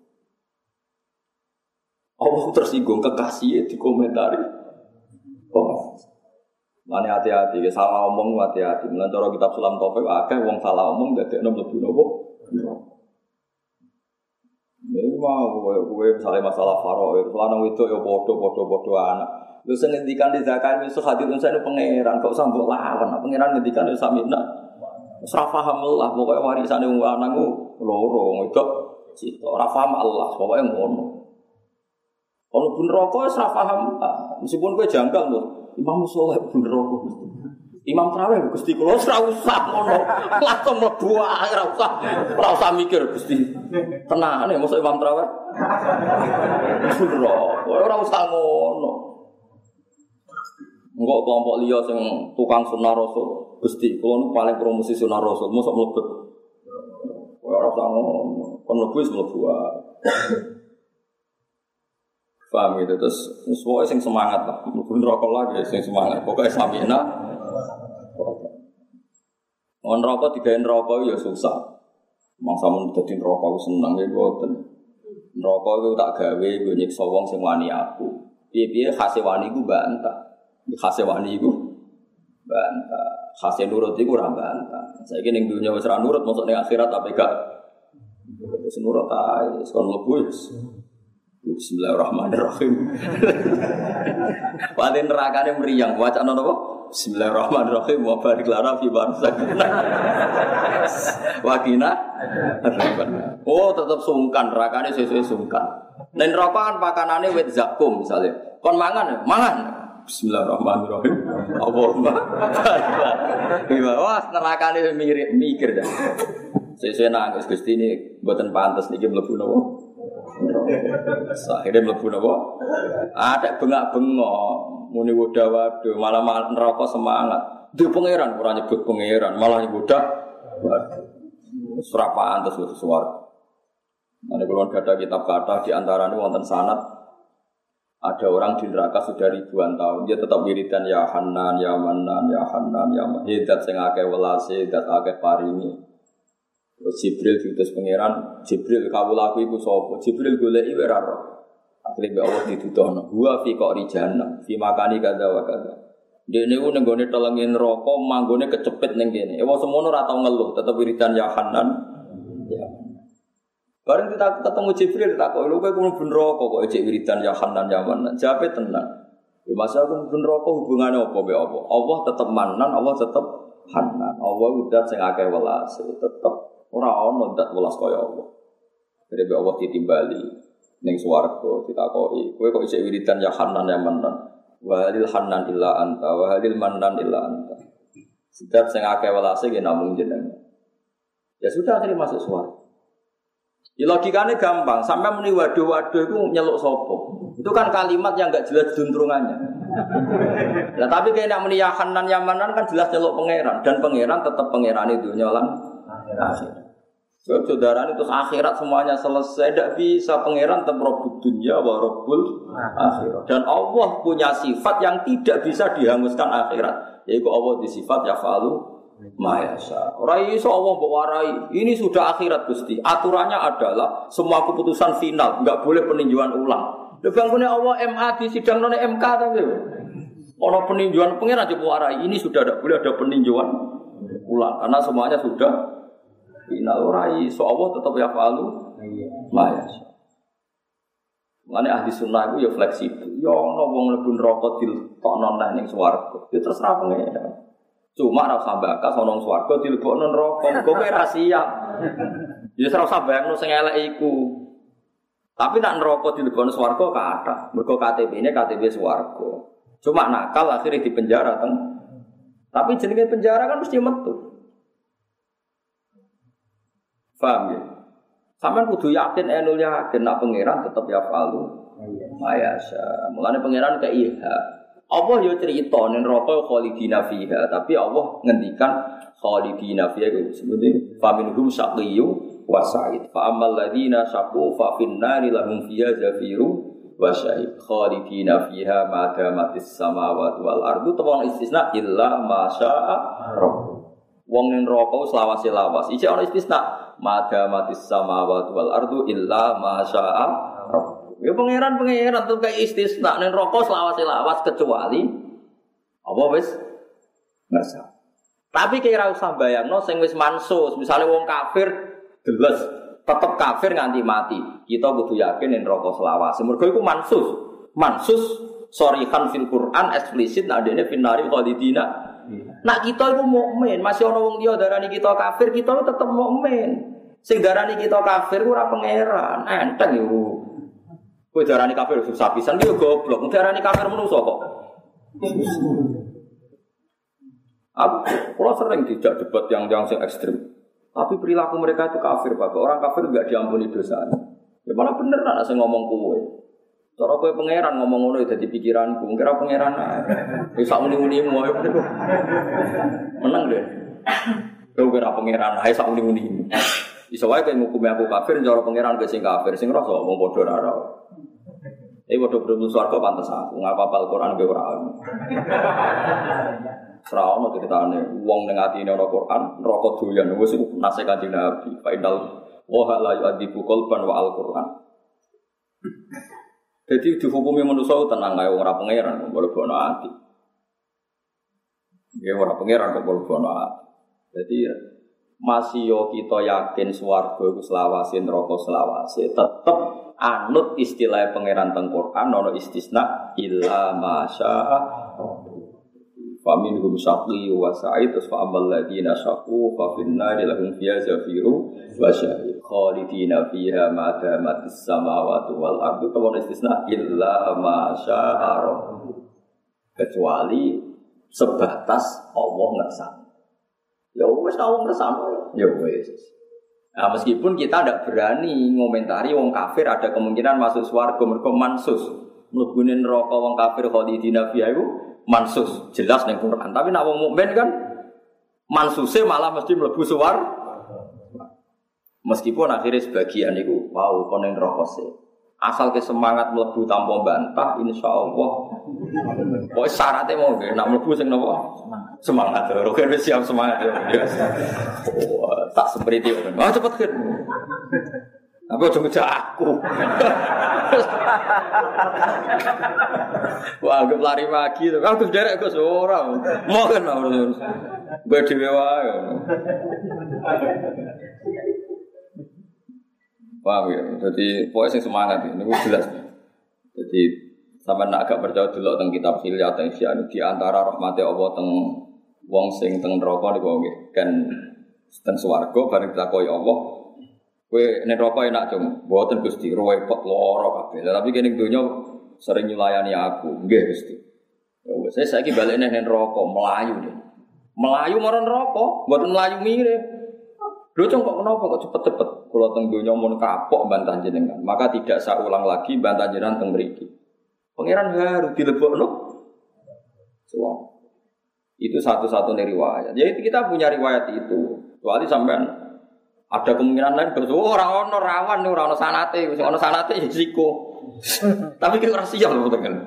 Allah tersinggung kekasihnya dikomentari. Oh, mana hati-hati, salah omong hati-hati. Melantar kitab Sulam Taufik, akeh wong salah omong dadi enom lebu nopo. Ini mau gue misalnya masalah faro, lanang itu ya bodoh bodoh bodoh anak. Lu sengendikan di zakat itu hadir unsa itu pangeran, kok sambut lawan. Pangeran ngendikan itu samina. Ora paham Allah, pokoknya warisane wong lanang ku loro, wedok cita. Ora paham Allah, pokoknya ngono. Kalau pun rokok ora paham, meskipun kowe janggal lho. Imam Soleh pun rokok. Imam Traweh Gusti kula ora usah ngono. Langsung mlebu ora usah. Ora usah mikir Gusti. Tenane mosok Imam Traweh. Pun rokok, ora usah ngono. Engko kelompok liya sing tukang sunah Rasul. Gusti, kula niku paling promosi sunah Rasul, mosok mlebet. Ora usah ngono. Kon mlebu wis mlebu wae. Paham gitu terus semuanya sing semangat lah, mlebu neraka lagi sing semangat. Pokoke samina. On rokok digawe neraka ya susah. Mangsa mun dadi neraka aku seneng ya mboten. Neraka iku tak gawe nggo nyiksa wong sing wani aku. Piye-piye khase wani iku bantah. Khase wani iku bantah. Khase nurut iku ora bantah. Saiki ning dunya wis ora nurut, mosok ning akhirat apa gak? Wis nurut ae, wis kon mlebu wis. Bismillahirrahmanirrahim. Wali nerakane mriyang, wacana napa? Bismillahirrahmanirrahim. Wa barik lana fi barzakina. Wakina. Oh, tetep sungkan, nerakane sesuai sungkan. Nek neraka kan pakanane wit zakum misale. Kon mangan, mangan. Bismillahirrahmanirrahim. Allahumma. Wah, nerakane mirip mikir dah. Sesuai nangis Gusti ini mboten pantes niki mlebu napa? Akhirnya mlebu napa? Ada bengak-bengok, muni woda-wado, malah neraka semangat. Duh pangeran ora nyebut pangeran, malah woda. Ora pantes wis suwar. Nek kula gadah kitab kata di antarane wonten sanad ada orang di neraka sudah ribuan tahun, dia tetap wiridan ya Hanan, ya Manan, ya Hanan, ya Mahidat sing akeh welase, dat akeh paringi. Jibril diutus pangeran, Jibril kawulaku iku sapa? Jibril goleki ora ora. Akhire mbek Allah dituduhno, "Wa fi qari jahannam, fi makani kadza wa kadza." Dene ku ning gone telenge neraka, manggone kecepit ning kene. Ewa semono ora tau ngeluh, tetep wiridan ya Hanan. Ya. Bareng kita ketemu Jibril takok, "Lho kowe kuwi ben neraka kok ejek wiridan ya Hanan ya Manan?" Jawabe tenan. Ya masa aku ben neraka hubungane apa mbek apa? Allah tetep Manan, Allah tetep Hanan. Allah udah sing akeh welase, tetep ora ono ndak welas kaya Allah. Dene Allah ditimbali ning swarga ditakoki, kowe kok isih wiridan ya Hanan ya Manan. Wa halil Hanan illa anta wa halil Manan illa anta. Sedap sing akeh welase nggih namung jenengan. Ya sudah akhirnya masuk swarga. Ya logikane gampang, sampai muni waduh-waduh iku nyeluk sapa? Itu kan kalimat yang enggak jelas duntrungannya. Lah tapi kene muni ya Hanan ya Manan kan jelas nyeluk pangeran dan pangeran tetap pangerane dunya lan akhirat. Sebab saudara itu akhirat semuanya selesai, tidak bisa pangeran tetap Rabbul dunya wa Rabbul akhirat. Dan Allah punya sifat yang tidak bisa dihanguskan akhirat, yaitu Allah di sifat yafalu ma yasha. Ora iso Allah mbok warai, ini sudah akhirat Gusti. Aturannya adalah semua keputusan final, enggak boleh peninjauan ulang. Lha bangkune Allah M A di sidang none M K ta lho. Ono peninjauan pangeran coba warai, ini sudah tidak boleh ada peninjauan ulang karena semuanya sudah final. Rai so Allah tetap ya falu maya. Mane ahli sunnah itu ya fleksibel. Ya ono wong mlebu neraka dilebokno nang ning swarga. Ya terserah pangeran. Cuma ora usah bakas ono swarga dilebokno neraka. Kok kowe ra siap. Ya ora usah bayangno sing elek iku. Tapi nek neraka dilebokno swarga kathah. Mergo K T P-ne K T P swarga. Cuma nakal akhirnya di penjara teng. Tapi jenenge penjara kan mesti metu. Paham ya? Sampeyan kudu yakin enul yakin nak pangeran tetep ya falu. Mayasa. Mulane pangeran ke iha. Allah yo cerita ning neraka khalidina fiha, tapi Allah ngendikan khalidina fiha itu sebenarnya faminhum syaqiyyu wa sa'id. Fa ammal ladzina syaqu fa fin nari lahum fiha zafiru wa sa'id. Khalidina fiha ma damatis samawati wal ardu tawon istisna illa ma syaa rabb. Wong ning neraka selawase lawas. Iki ana istisna madamatis samawati wal ardu illa ma syaa rabb. Ya pangeran-pangeran tuh kayak istisna ning neraka selawase lawas kecuali apa wis ngersa. Tapi kira usah bayangno sing wis mansus, misale wong kafir deles tetep kafir nganti mati. Kita kudu yakin ning neraka selawase. Mergo iku mansus. Mansus sorihan fil Quran eksplisit adene finari khalidina. Nak kita itu mukmin, masih ana wong liya darani kita kafir, kita tetep mukmin. Sing darani kita kafir ora pangeran, enteng yo. Kowe darani kafir susah pisan ki yo goblok. Darani kafir menungso kok. Aku kalau sering tidak debat yang yang sing ekstrem. Tapi perilaku mereka itu kafir, Pak. Orang kafir enggak diampuni dosanya. Ya malah bener nak sing ngomong kowe. Cara kowe pangeran ngomong ngono dadi pikiranku, kira pangeran ae. Wis sak muni-munimu ae. Menang deh. Kowe kira pangeran ae sak muni-munimu. Iso wae kowe ngukumi aku kafir, cara pangeran kowe sing kafir, sing rasa wong padha ora ora. Eh padha mlebu swarga pantes aku ngapal Quran ge ora. Ora ono critane wong ning atine ana Quran, neraka doyan wis nase Kanjeng Nabi. Fa innal wa la yu'adzibu qalban wa al-Quran. Jadi dihukumi manusia tenang ae ora pangeran kok mlebu ati. Ya ora pangeran kok mlebu ati. Jadi masih yo kita yakin swarga iku selawase neraka selawase tetep anut istilah pangeran teng Quran ana istisna illa masya'a. Famin hum syaqi wa sa'id fa amal ladina syaqu fa finna lahum fiha zafiru wa syahid khalidina fiha ma damatis samawati wal ardu wa istisna illa ma syaa kecuali sebatas Allah ngersani. Ya wis tau ngersani ya wis. Nah, meskipun kita tidak berani ngomentari wong kafir ada kemungkinan masuk swarga mergo mansus mlebune neraka wong kafir khalidina fiha iku mansus jelas ning Quran. Tapi nek wong mukmin kan mansuse malah mesti mlebu suwar. Meskipun akhirnya sebagian itu wow kon ning neraka sih. Asal ke semangat mlebu tanpa bantah insyaallah. Pokoke syaratnya mau nggih nek mlebu sing napa? Semangat. Roker wis siap semangat ya. Oh, tak seperti itu. Ah cepet kan. Tapi ojo ngejak aku. Wah, anggap lari pagi to. Aku derek Gus ora. Mau kan harus. Gue dhewe wae. Paham ya? Jadi pokoknya sing semangat ini jelas. Jadi sampean nak agak percaya delok teng kitab Hilyat teng Syian di antara rahmate Allah teng wong sing teng neraka niku nggih kan teng swarga bareng ditakoki Allah kowe nek neraka enak cung mboten Gusti repot lara kabeh tapi kene donya sering nyulayani aku nggih Gusti ya wis saya saiki balik nang neraka melayu deh melayu marang neraka mboten melayu mirip lho cung kok kenapa kok cepet-cepet kula teng donya mun kapok bantah jenengan maka tidak saya ulang lagi bantah jenengan teng mriki pangeran harus dilebokno suwang itu satu-satunya riwayat. Jadi kita punya riwayat itu. Kecuali sampean ada kemungkinan lain bersua orang ono rawan nih orang ono sanate, orang ono sanate risiko. Tapi kita rahasia loh betul.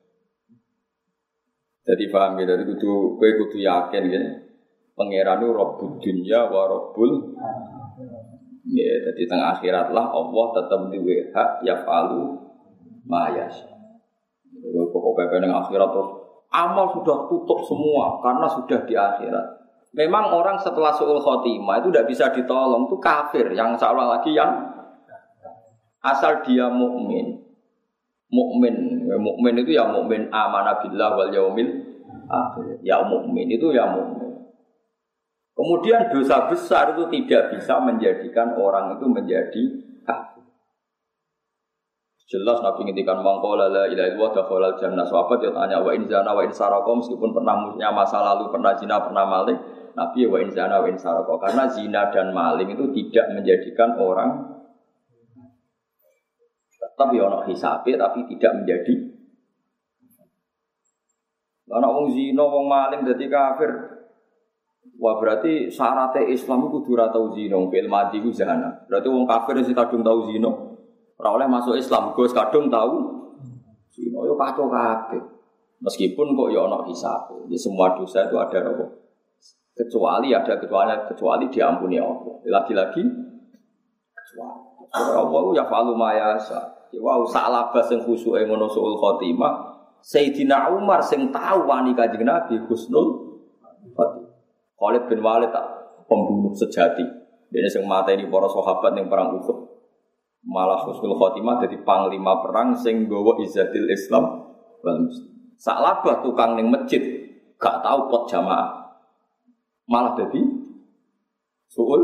Jadi paham ya dari kudu kowe kudu yakin ya. Pangeran itu Rabbud dunya wa Rabbul. Ya, jadi tengah akhirat lah Allah tetap duwe hak yafalu ma yasha. Pokoknya ning akhirat terus amal sudah tutup semua karena sudah di akhirat. Memang orang setelah su'ul khotimah itu tidak bisa ditolong, itu kafir yang seolah lagi yang asal dia mukmin. Mukmin, mukmin itu ya mukmin amanah billah wal yaumil akhir. Ya mukmin itu ya mukmin. Kemudian dosa besar itu tidak bisa menjadikan orang itu menjadi kafir. Jelas Nabi ngintikan mangkola la ilaha illallah dakhalal jannah. Sahabat dia tanya wa in zana wa in saraka meskipun pernah punya masa lalu, pernah zina, pernah maling, Nabi wa in zana wa in saraka karena zina dan maling itu tidak menjadikan orang tetap ya ono hisabe tapi tidak menjadi. Ana wong zina, wong maling dadi kafir. Wah berarti syaratnya Islam itu kudu ora tau zina, fil mati ku zina. Berarti wong kafir sing kadung tau zina. Ora oleh masuk Islam, Gus kadung tahu zina yo kacau kabeh. Meskipun kok yo ana hisab. Ya semua dosa itu ada apa? Kecuali ada kecuali kecuali diampuni Allah. Lagi-lagi kecuali. Allah ya falu mayasa. Ya wow salaba sing khusyuke ngono suul khotimah. Sayyidina Umar sing tahu wani Kanjeng Nabi husnul khotimah. Khalid bin Walid tak pembunuh sejati. Dene sing mateni para sahabat ning perang Uhud. Malah husnul khotimah jadi panglima perang sing nggawa izzatil Islam wal muslim. Salabah tukang ning masjid gak tahu pot jamaah. Malah jadi suul.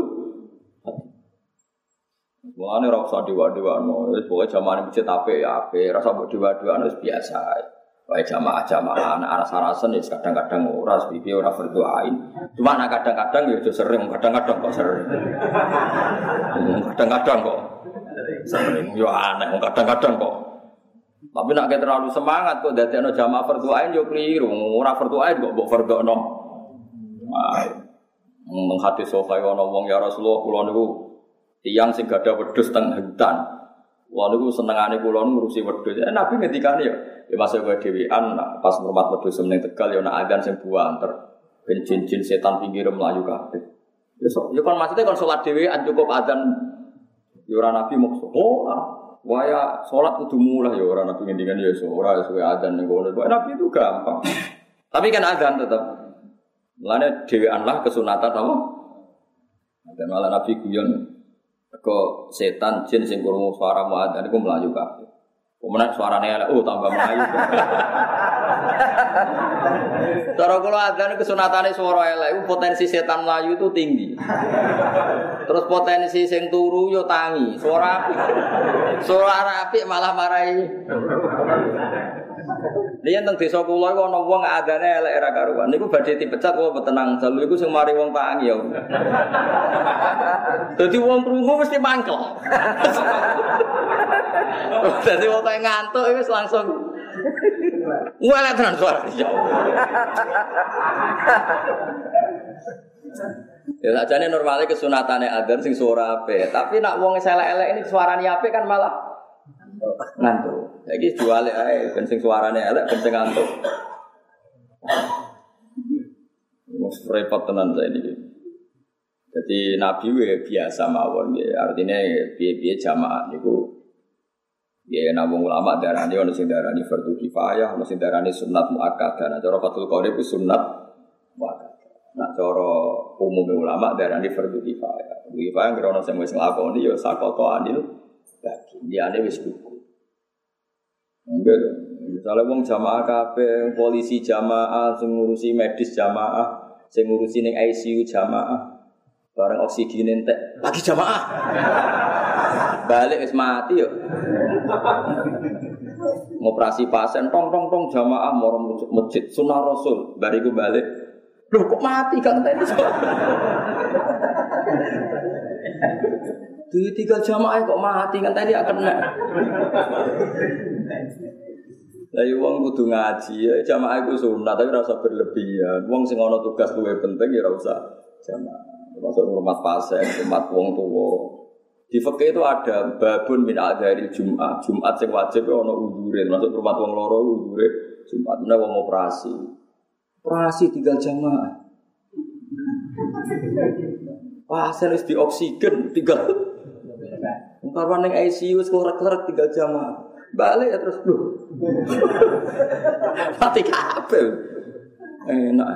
Mulane ora usah dewa-dewano, wis pokoke jamaah ning masjid apik ya apik, ora usah mbok dewa-dewano wis biasa ae. Wae jamaah-jamaah anak aras-arasen wis kadang-kadang ora piye ora berdoain. Cuma anak kadang-kadang ya sering, kadang-kadang kok sering. Kadang-kadang kok sering yo aneh kadang-kadang kok. Tapi nek terlalu semangat kok dadekno jamaah berdoain yo keliru. Ora berdoain kok mbok berdono. Wah. Mung hadis sahih ana wong ya Rasulullah kula niku tiyang sing gadah wedhus teng hutan. Wah niku senengane kula ngurusi wedhus. Ya, Nabi ngendikane ya, ya masa kowe dhewean pas ngurmat wedhus meneng Tegal ya ana adzan sing buanter. Ben jin-jin setan pinggire mlayu kabeh. Ya so, ya kan maksudnya kan salat dhewean cukup adzan ya ora Nabi maksud. Oh, waya salat kudu mulai ya ora Nabi ngendikane ya so ora suwe adzan ning kono. Nabi itu gampang. Tapi kan adzan tetap. Mulane dhewean lah kesunatan apa? Dan malah Nabi guyon kok setan jin sing krungu suara muadzin iku mlayu kabeh. Kemudian suarane elek, oh tambah mlayu. Cara kula adzan kesunatane suara elek, potensi setan mlayu itu tinggi. Terus potensi sing turu yo tangi, suara apik. Suara apik malah marahi. Liyan teng desa kula iku ana wong adane elek ra karuan. Niku badhe dipecat apa tenang dalu iku sing mari wong tangi ya. Dadi wong krungu mesti mangkel. Dadi wong kaya ngantuk wis langsung ngwelek tenan suara. Ya sajane normale kesunatane adzan sing suara apik, tapi nek wong elek-elek ini suarane apik kan malah ngantuk. Saiki jual ae ben sing suarane elek ben sing ngantuk. Wes repot tenan saiki. Jadi Nabi we biasa mawon nggih. Artine piye-piye jamaah niku ya nabung ulama darani ono sing darani fardhu kifayah, ono sing darani sunat muakkadah. Nah cara Fathul Qorib ku sunat muakkadah. Nah cara umum ulama darani fardhu kifayah. Fardhu kifayah ngrono sing wis nglakoni ya sakoto anil bagi. Liyane wis cukup. Enggak, misalnya wong jamaah kabeh, polisi jamaah, sing ngurusi medis jamaah, sing ngurusi ning I C U jamaah, bareng oksigen entek, lagi jamaah. Balik wis mati yo. Ngoperasi pasien tong tong tong jamaah moro masjid sunah Rasul, bariku balik. Loh kok mati kan tadi? Di tiga jamaah kok mati kan tadi akan kena. Lah wong kudu ngaji ya jamaah iku sunat tapi ora usah berlebihan. Wong sing ana tugas luwih penting ya ora usah jamaah. Termasuk hormat pasien, hormat wong tuwa. Di fikih itu ada babun min adzharil Jumat. Jumat sing wajib ana uzure, termasuk hormat wong loro uzure Jumat menawa wong operasi. Operasi tinggal jamaah. Pasien wis di oksigen tinggal. Karwan ning I C U wis nglek-lek tinggal jamaah. Balik ya terus lho. Mati kabeh. Enak.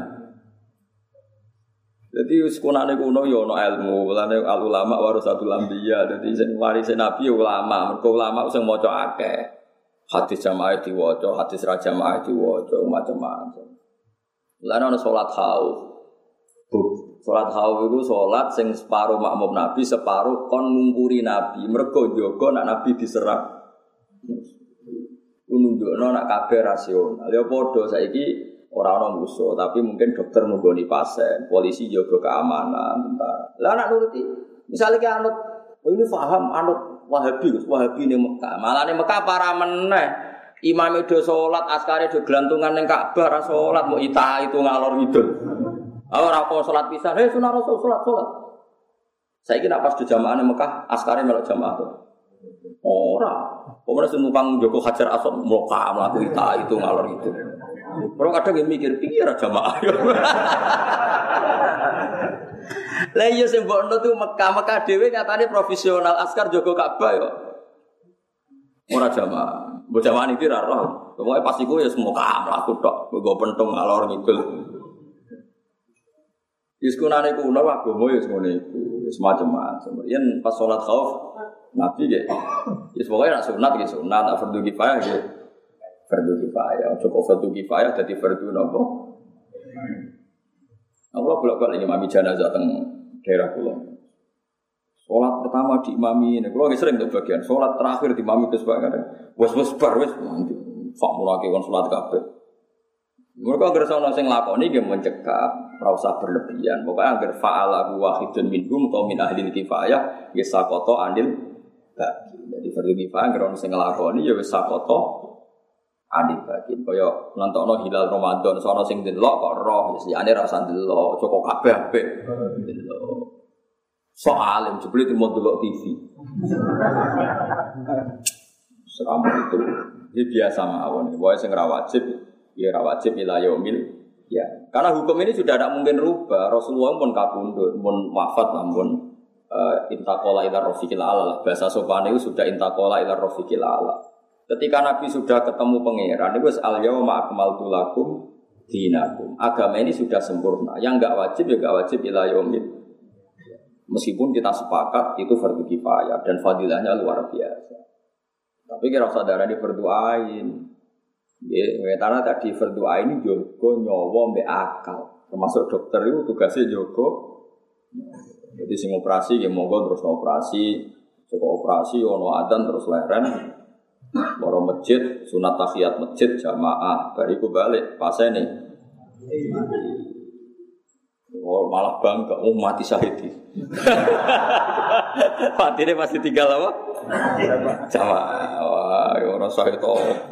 Jadi sekunane kuno ya ana ilmu, mulane al ulama warasatul anbiya. Dadi sing warise nabi ya ulama, mergo ulama sing maca akeh. Hadis jamaah diwaca, hadis ra jamaah diwaca, macam-macam. Lan ana salat khauf. Salat khauf iku salat sing separo makmum nabi, separo kon ngumpuri nabi. Mergo jaga nek nabi diserang. Nunjukno nek kabeh rasional. Ya padha saiki ora ana musuh, tapi mungkin dokter nunggoni pasien, polisi jaga keamanan, tentara. Lah nek nuruti, misale ki anut, oh ini paham anut Wahabi, Wahabi ning Mekah. Malah ning Mekah para meneh. Imame do salat, askare do glantungan ning Ka'bah ra salat, mau ita itu ngalor ngidul. Ora kok salat pisan, heh sunah Rasul salat salat. Saiki nek pas do jamaah ning Mekah, askare melok jamaah to. Ora. Pemenang senumpang Joko Hajar Asad mloka mlaku ita itu ngalor itu. Ora kadang mikir pikir aja jamaah. Lah iya sing mbokno tuh Mekah-Mekah dhewe nyatane profesional askar jaga Ka'bah yo. Ora jamaah. Mbok jamaah iki ra roh. Pokoke pas iku ya semoga mlaku tok, nggo pentung ngalor ngidul. Wis kunane kuno agama ya ngene iku, wis macam-macam. Yen pas salat khauf Nabi nggih. Wis pokoke nek sunat nggih sunat, nek fardhu kifayah nggih fardhu kifayah. Cukup fardhu kifayah dadi fardhu napa? Allah bolak-balik imami jenazah teng daerah kula. Salat pertama diimami, nek kula nggih sering untuk bagian salat terakhir diimami Gus Pak kadang. Wes-wes bar wes nanti fak mulake kon salat kabeh. Mereka agar ana sing lakoni nggih mencekap, ora usah berlebihan. Pokoke agar fa'ala wahidun minhum atau min ahli kifayah ya saqata anil bagi. Jadi fardhu kifayah ngrono sing nglakoni ya wis sakoto anil bagi. Kaya nantokno hilal Ramadan sono sing delok kok roh wis liyane ra usah delok, cukup kabeh apik. Delok. Sok alim jebule timo delok T V. Selama itu ini biasa mawon. Wae sing ra wajib, ya ra wajib ila yaumil ya. Karena hukum ini sudah tidak mungkin rubah. Rasulullah pun kapundhut, pun wafat namun uh, intaqala ila rafiqil ala. Bahasa sopan itu sudah intaqala ila rafiqil ala. Ketika Nabi sudah ketemu pangeran, itu al yauma akmaltu lakum dinakum. Agama ini sudah sempurna. Yang enggak wajib ya enggak wajib ila yaumil. Meskipun kita sepakat itu fardu kifayah dan fadilahnya luar biasa. Tapi kira saudara ini berdoain. Ya, karena tadi berdoa ini jogo nyawa mbek akal. Termasuk dokter itu tugasnya jogo. Jadi sing operasi ya monggo terus operasi, cukup operasi ono adzan terus leren. Loro masjid, sunat tahiyat masjid jamaah, bariku balik pasene. Oh, malah bangga, oh mati syahid. Matine pasti tinggal apa? Jamaah. Wah, ora syahid apa.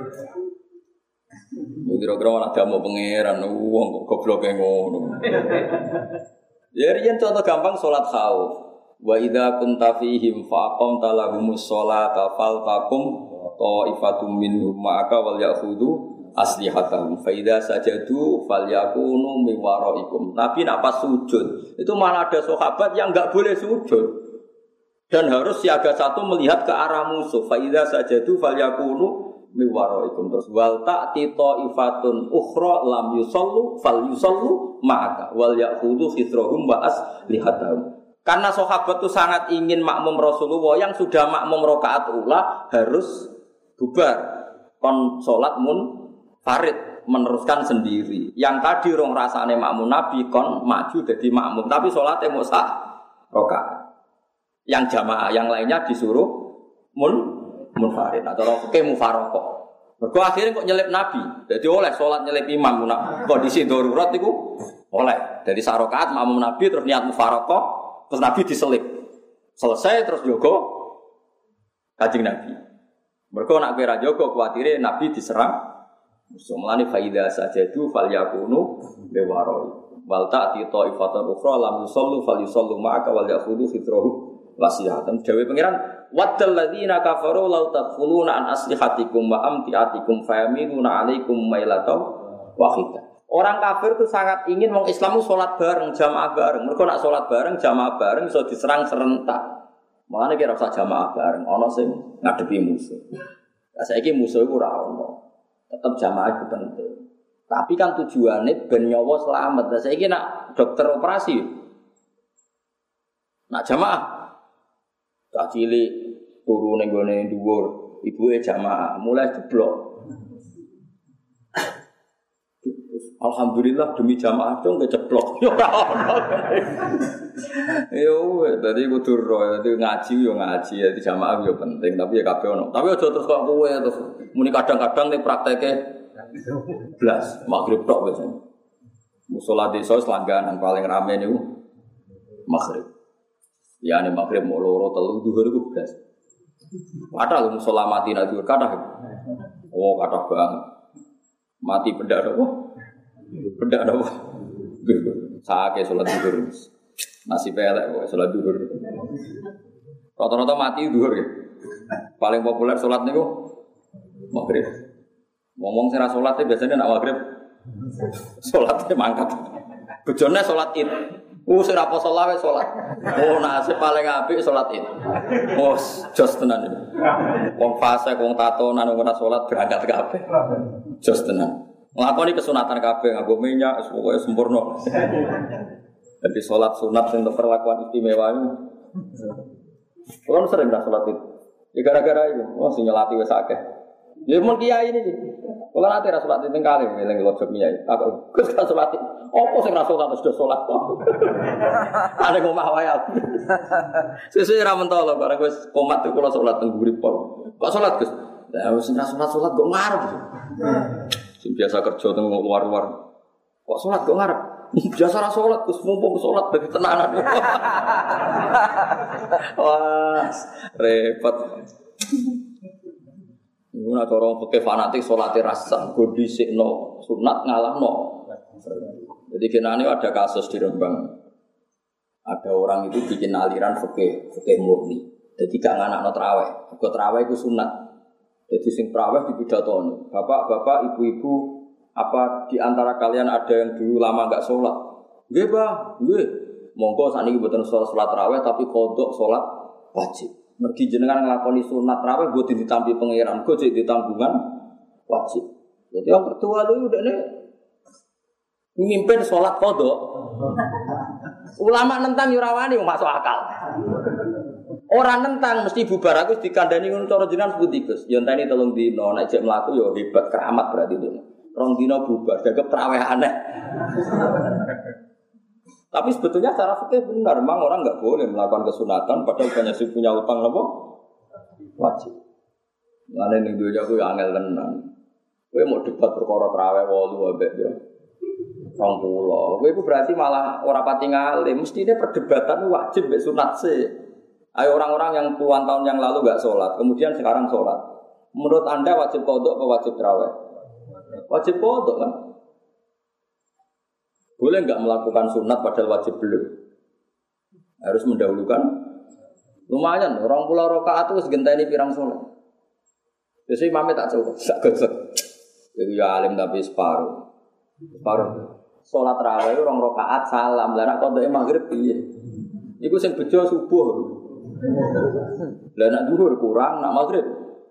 Kira-kira malah damu pangeran wong kok gobloke ngono. Ya riyen contoh gampang salat khauf. Wa idza kunta fihim fa aqamta lahumus sholata faltaqum ta'ifatum minhum ma'aka wal ya'khudhu aslihatahum fa idza sajadu falyakunu min waraikum. Tapi nak pas sujud itu malah ada sahabat yang enggak boleh sujud dan harus siaga satu melihat ke arah musuh. Fa idza sajadu falyakunu min waraikum. Terus wal ta'ti ta'ifatun ukhra lam yusallu falyusallu ma'aka wal ya'khudhu khitrahum wa aslihatahum. Karena sahabat itu sangat ingin makmum Rasulullah yang sudah makmum rakaat ula harus bubar kon salat mun farid meneruskan sendiri. Yang tadi rong rasane makmum Nabi kon maju jadi makmum tapi salate mung sak rakaat. Yang jamaah yang lainnya disuruh mun munfarid atau fikih mufaraqah. Mergo akhirnya kok nyelip Nabi. Jadi oleh salat nyelip imam nak kondisi darurat iku oleh. Dari sak rakaat makmum Nabi terus niat mufaraqah terus Nabi diselip. Selesai terus jogo Kanjeng Nabi. Mergo nak kira jogo kuwatire Nabi diserang. Mulane faida sajadu falyakunu biwaroi. Wal ta'ti ta'ifatun ukhra lam yusallu falyusallu ma'aka wal ya'khudhu fitrahu wasiyatan. Dewe pangeran waddal ladzina kafaru law tadkhuluna an aslihatikum wa amtiatikum fayamiluna 'alaikum mailatan wahidah. Orang kafir itu sangat ingin wong Islam itu sholat bareng, jamaah bareng. Mereka nak sholat bareng, jamaah bareng, so diserang serentak. Makanya kira usah jamaah bareng, ono sing ngadepi musuh. Nah, saiki musuh itu ora ono. Tetap jamaah itu penting. Tapi kan tujuannya ben nyawa selamat. Nah, saiki nak dokter operasi, nak jamaah, tak cilik turu ning gone dhuwur, ibuke jamaah, mulai jeblok. Alhamdulillah demi jamaah dong keceplok. Ora ono. Yo, tadi kudu ro, tadi ngaji yo ngaji, ya jamaah yo penting, tapi ya kabeh ono. Tapi aja terus kok kowe terus muni kadang-kadang ning prakteke blas magrib tok wis. Musala desa selangganan paling rame niku magrib. Ya nek magrib mau loro telu dhuwur iku blas. Padahal lho musala mati nak dhuwur kathah. Oh, kathah banget. Mati pendak apa? Benda ada apa? Sake sholat duhur. Nasib elek kok sholat duhur. Rata-rata mati duhur ya. Paling populer sholat niku maghrib. Ngomong sing ra sholat biasanya nak maghrib. Sholatnya mangkat. Bojone sholat Id. Oh sing ra poso lawe sholat. Oh nasib paling apik sholat Id. Oh jos tenan iki. Wong fase wong tatonan wong ora sholat berangkat kabeh. Jos tenan. Nglakoni kesunatan kabeh nganggo minyak pokoke sempurna. Jadi salat sunat untuk perlakuan istimewa ini. Kalau sering dah salat itu. Ya gara-gara itu, oh sing nyelati wis akeh. Ya mun kiai ini. Kalau nanti ra salat itu kali eling lojok kiai. Aku Gus kan salat. Opo sing ra salat sudah salat kok. Ada ngomah wae aku. Sesuk ra mentolo bareng wis komat itu kula salat teng Guripol. Kok salat Gus? Lah wis ra salat-salat kok ngarep. Sing biasa kerja teng luar-luar. Kok salat kok ngarep? Biasa ra salat, Gus mumpung salat bagi tenanan. Wah, repot. Iku nek orang fikih fanatik salate rasa go dhisikno, sunat ngalahno. Jadi kenane ada kasus di Rembang. Ada orang itu bikin aliran fikih, fikih murni. Jadi gak nganakno traweh. Mergo traweh iku sunat. Jadi sing traweh dipidatoni. Bapak-bapak, ibu-ibu, apa di antara kalian ada yang dulu lama enggak sholat? Nggih, Pak. Nggih. Monggo sakniki mboten sholat salat traweh tapi kodok sholat wajib. Mergi jenengan nglakoni sunat traweh mbok ditampi pangeran, go cek ditambungan wajib. Jadi yang kedua itu udah nih mimpin sholat kodok. Ulama nentang yurawani masuk akal. Orang nentang mesti bubar aku dikandani ngono cara jenengan putikus. Ya enteni tolong dino nek jek mlaku ya hebat keramat berarti itu. Rong dino bubar dagep traweh aneh. Tapi sebetulnya secara fikih benar, memang orang enggak boleh melakukan kesunatan padahal banyak sing punya utang apa? Wajib. Ngene ning dunya ku ya angel tenan. Kowe mau debat perkara traweh wolu ambek yo rong puluh. Kowe iku berarti malah ora pati ngalim. Mestine perdebatan wajib mbek sunat sih. Ayo orang-orang yang puluhan tahun yang lalu enggak sholat, kemudian sekarang sholat. Menurut Anda wajib qodok atau wajib traweh? Wajib qodok kan? Boleh enggak melakukan sunat padahal wajib belum? Harus mendahulukan. Lumayan, orang pulau rakaat itu segenteni pirang sholat. Jadi imamnya tak cukup, tak gosok. Itu ya alim tapi separuh. Separuh. Sholat raweh orang rakaat salam, lah nak qodok maghrib piye? Iku sing bejo subuh. Lah nak zuhur kurang, nak maghrib.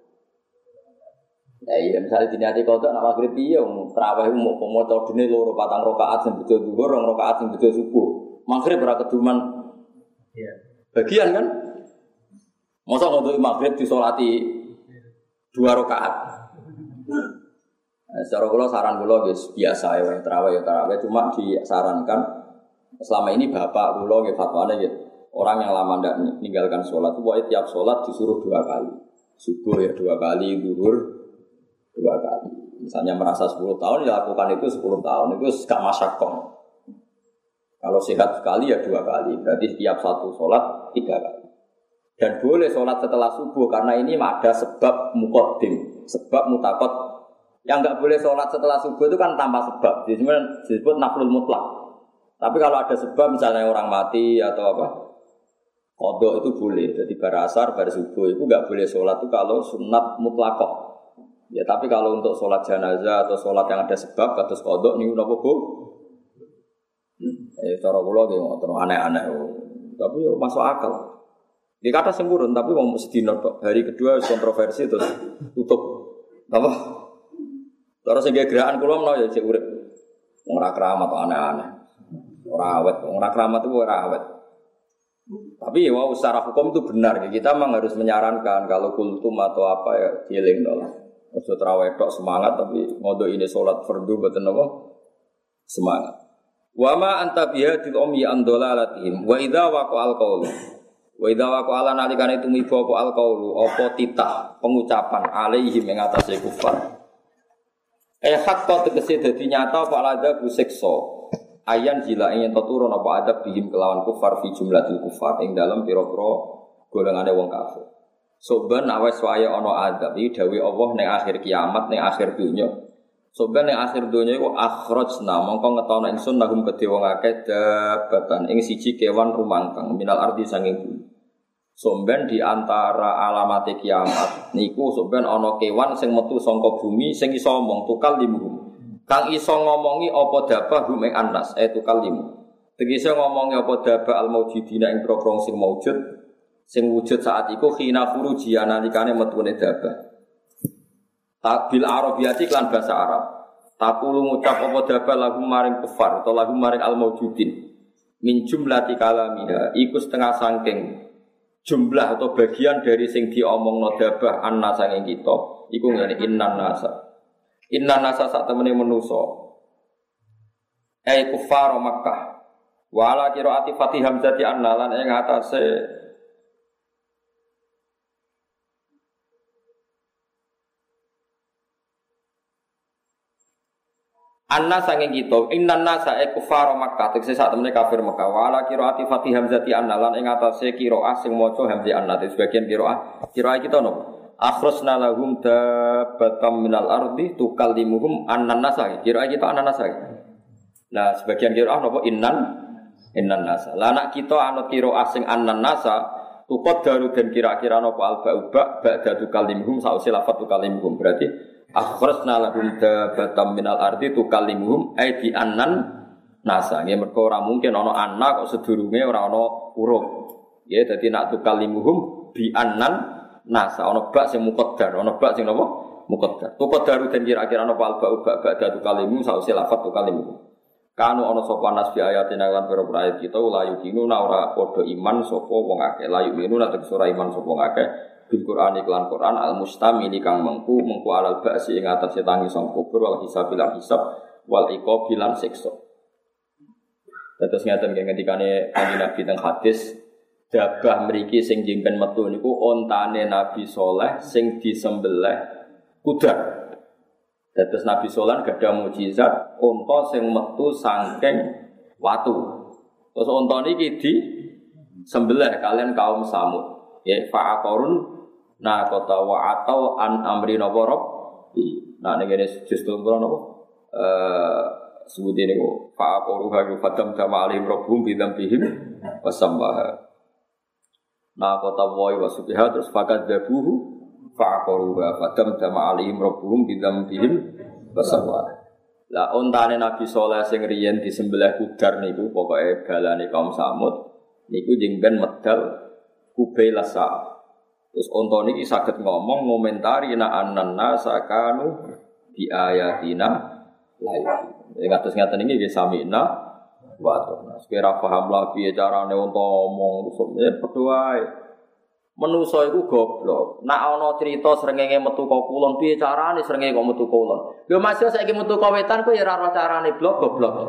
Ya iya, misalnya diniati qodok nak maghrib piye wong traweh mau maca dene loro patang rakaat sing bejo zuhur, rong rakaat sing bejo subuh. Maghrib ora keduman. Iya. Bagian kan? Masa qodok maghrib disolati dua rakaat. Nah, secara kula saran kula wis biasa ya traweh ya traweh cuma disarankan selama ini bapak kula nggih fatwane nggih orang yang lama ndak meninggalkan sholat itu pokoknya tiap sholat disuruh dua kali. Subuh ya dua kali, zuhur dua kali. Misalnya merasa sepuluh tahun ya lakukan itu sepuluh tahun itu gak masyakoh. Kalau sehat sekali ya dua kali. Berarti setiap satu sholat tiga kali. Dan boleh sholat setelah subuh karena ini ada sebab muqaddim, sebab mutakot. Yang enggak boleh sholat setelah subuh itu kan tanpa sebab. Jadi disebut naflul mutlak. Tapi kalau ada sebab misalnya orang mati atau apa, qodok itu boleh. Jadi bar asar, bar subuh itu enggak boleh sholat itu kalau sunat mutlakoh. Ya tapi kalau untuk sholat jenazah atau sholat yang ada sebab kados qodok niku napa Bu? Eh cara kula nggih ngoten aneh-aneh. Tapi yo masuk akal. Di kata sempurna tapi mau sedina tok. Hari kedua kontroversi terus tutup. Apa? Terus sing gerakan kula menawa ya cek urip. Wong ora keramat aneh-aneh. Ora awet, wong ora keramat itu ora awet. Tapi ya wow, secara hukum itu benar. Kita memang harus menyarankan kalau kultum atau apa ya dieling lah. Ojo traweh tok semangat tapi ngodok ini salat fardu mboten apa semangat. Wa ma anta bihadil ummi an dalalatihim wa idza waqa'al qaul. Wa idza waqa'ala nalikane tumiba apa al qaulu apa titah pengucapan alaihim ing atase kufar. Eh hakka tegese dadi nyata apa alada ku siksa. Ayan jila ing turun apa adab bihim kelawan kufar fi jumlatil kufar ing dalam pira-pira golongane wong kafir. Soban awes wae ana adab iki dawuh Allah ning akhir kiamat ning akhir dunya. Soban ning akhir dunya iku akhrajna mongko ngetono ingsun lahum kedhe wong akeh dabatan ing siji kewan rumangkang minal ardi sanging bumi. Somben di antara alamate kiamat niku somben ana kewan sing metu saka bumi sing iso ngomong tukal limu. Kang iso ngomongi apa dabah hum ing anas eh tukal limu. Tegese ngomongi apa dabah al maujidina ing prokrom sing maujud sing wujud saat iku khina furuji nalikane metune dabah. Tabil arabiyati lan bahasa Arab. Takulu ngucap apa dabah lagu maring kufar atau lagu maring al maujudin. Min jumlati kalamiha iku setengah saking jumlah atau bagian dari sing diomongno dabah annasa ing kita iku ngene innan nasa innan nasa sak temene manusa ai kufar Makkah wala qiraati Fatih Hamzati annalan ing atase anna sanging kita innan nasa e kufar Makkah tegese sak temene kafir Makkah wala qiraati Fatih Hamzati annalan ing atase qiraah sing maca hamzah annat sebagian qiraah qiraah kita no akhrasna lahum dabatam minal ardi tukallimuhum annan nasa qiraah kita annan nasa nah sebagian qiraah napa innan innan nasa lah nak kita anut qiraah sing annan nasa tukot daru dan kira-kira nopo alba ubak ba'da tukalimhum sausi lafat tukalimhum berarti akhrajna lahum dabatam minal ardi tukalimhum ai bi annan nasa nggih mergo ora mungkin ana anak kok sedurunge ora ana huruf ya dadi nak tukalimhum bi annan nasa ana bak sing muqaddar ana bak sing napa muqaddar tukot daru dan kira-kira nopo alba ubak ba'da tukalimhum sausi lafat tukalimhum kanu ana sapa nas bi ayatina lan pira ayat kita la yuqinu ora padha iman sapa wong akeh la yuqinu lan ora iman sapa wong akeh bil Qur'an iklan Qur'an al mustamili kang mengku mengku alal ba'si ing atase tangi sang kubur wal hisabil hisab wal iqabil lan siksa. Terus ngaten ngendikane kanjeng Nabi teng hadis dabah mriki sing jimpen metu niku ontane Nabi saleh sing disembelih kuda. Dados Nabi Solan gadah mukjizat unta sing metu saking watu. Terus unta niki di sembelih kalian kaum Samud. Ya fa'aqarun naqata wa atau an amri nawarab. Nah ngene justru napa eh sebut niku fa'aqaru ha fatam jama alim rabbum bidam bihim wasambaha. Naqata wa wasubiha terus fakat dabuhu fa'aqaru wa fatam jama alim rabbum bidam bihim wasambaha. Lah ontane Nabi Saleh sing riyen disembelih kudar niku pokoke balane kaum Samud niku jengben medal kubailasa. Terus onta niki saged ngomong ngomentari na annanna sakanu bi ayatina lain. Ya kados ngaten iki nggih samina wa atona. Sekira paham lah piye carane onta ngomong rusukne padha wae. Manusa iku goblok. Nek ana crita srengenge metu ka kulon piye carane srengenge kok metu kulon. Lho Mas yo saiki metu ka wetan kok ya ora ora carane blok goblok.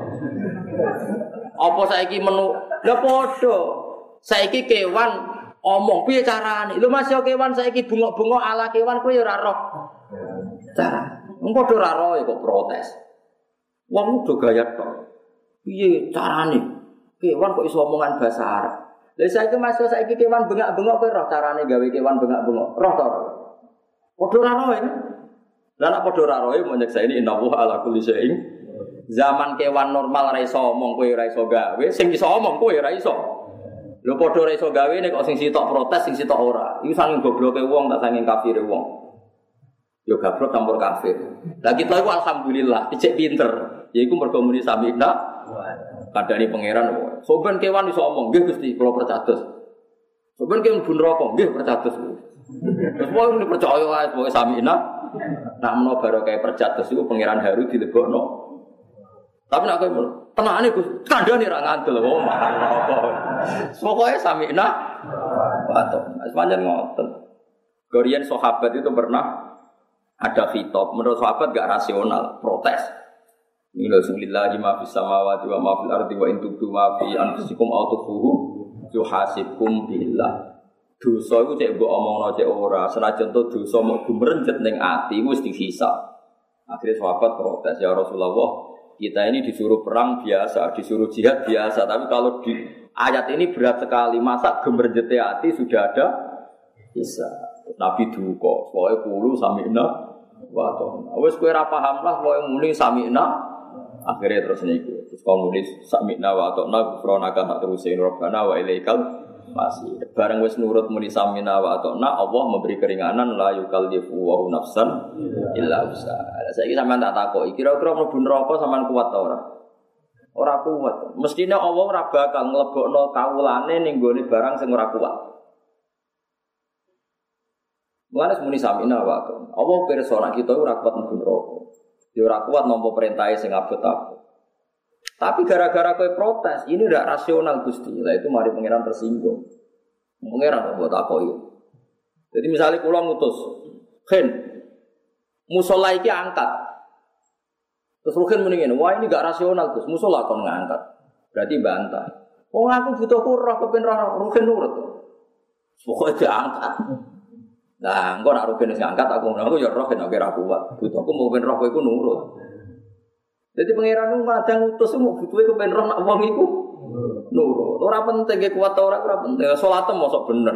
Apa saiki menu lha padha. Saiki kewan omong piye carane? Lho Mas yo kewan saiki bungok-bungok ala kewan kowe ya ora roh. Cara. Wong padha ora roh kok protes. Wong udah gaya tok. Piye carane? Kewan kok iso omongan bahasa Arab. Lah saiki Mas yo saiki kewan bengak-bengok kowe roh carane gawe kewan bengak-bengok. Roh to. Padha ora roh. Lah nek padha ora roh mo nyekseni innallaha ala kulli syai'in. Zaman kewan normal ora iso omong kowe ora iso gawe, sing iso omong kowe ora iso. Lho padha ora iso gawe nek kok sing sitok protes sing sitok ora. Iku saking gobloke wong tak saking kafire wong. Yo gablok campur kafir. Lah kita iku alhamdulillah dicek pinter. Yaiku mergo muni samina kadani pangeran. Soben kewan iso omong, nggih Gusti kula percados. Soben kewan bun neraka, nggih percados. Terus wong percaya wae pokoke samina. Nak menawa barokah percados iku pangeran Haru dilebokno. Tapi nak kowe tenane Gus, kandhane ra ngandel wong. Pokoke samina wato. Sepanjang ngoten. Gorian sahabat itu pernah ada khitab, menurut sahabat enggak rasional, protes. Bismillahirrahmanirrahim, ma fis samawati wa ma fil ardi wa in tubdu ma fi anfusikum aw tukhfuhu yuhasibkum billah. Dosa iku cek mbok omongno cek ora, senajan to dosa mok gumrencet ning ati wis dihisab. Akhirnya sahabat protes, ya Rasulullah, kita ini disuruh perang biasa, disuruh jihad biasa, tapi kalau di ayat ini berat sekali, masa gumrencete ati sudah ada hisab. Nabi duka, pokoke kulo sami'na wa ta'na. Wis kowe ora paham lah pokoke muni sami'na. Akhire terus niku. Terus kowe muni sami'na wa ta'na gufranaka tak terusin rabbana wa ilaikal masih. Bareng wis nurut muni sami'na wa ta'na, Allah memberi keringanan la yukallifu wa nafsan illa wus'aha. Saiki sampean tak takoki, kira-kira mlebu neraka sampean kuat ta ora? Ora kuat. Mestine Allah ora bakal nglebokno kawulane ning gone barang sing ora kuat. Mulane muni samina wae. Allah pirsa nek kita ora kuat mlebu neraka. Ya ora kuat nampa perintahe sing abot-abot. Tapi gara-gara kowe protes, ini ndak rasional Gusti. Lah itu mari pangeran tersinggung. Pangeran kok takoki. Jadi misalnya kula ngutus, "Khen, musala iki angkat." Terus Ruhin muni ngene, "Wah, ini enggak rasional, Gus. Musala kon ngangkat." Berarti bantah. "Oh, aku butuh roh kepen roh Ruhin nurut." Pokoke diangkat. Nah, engko nek rukun sing angkat aku ngono aku ya roh nek ora kuat. Butuhku mau ben roh kowe iku nurut. Dadi pangeran ku kadang utus mau butuhe kepen roh nek wong iku nurut. Ora penting ge kuat ora ora penting. Salatem mosok bener.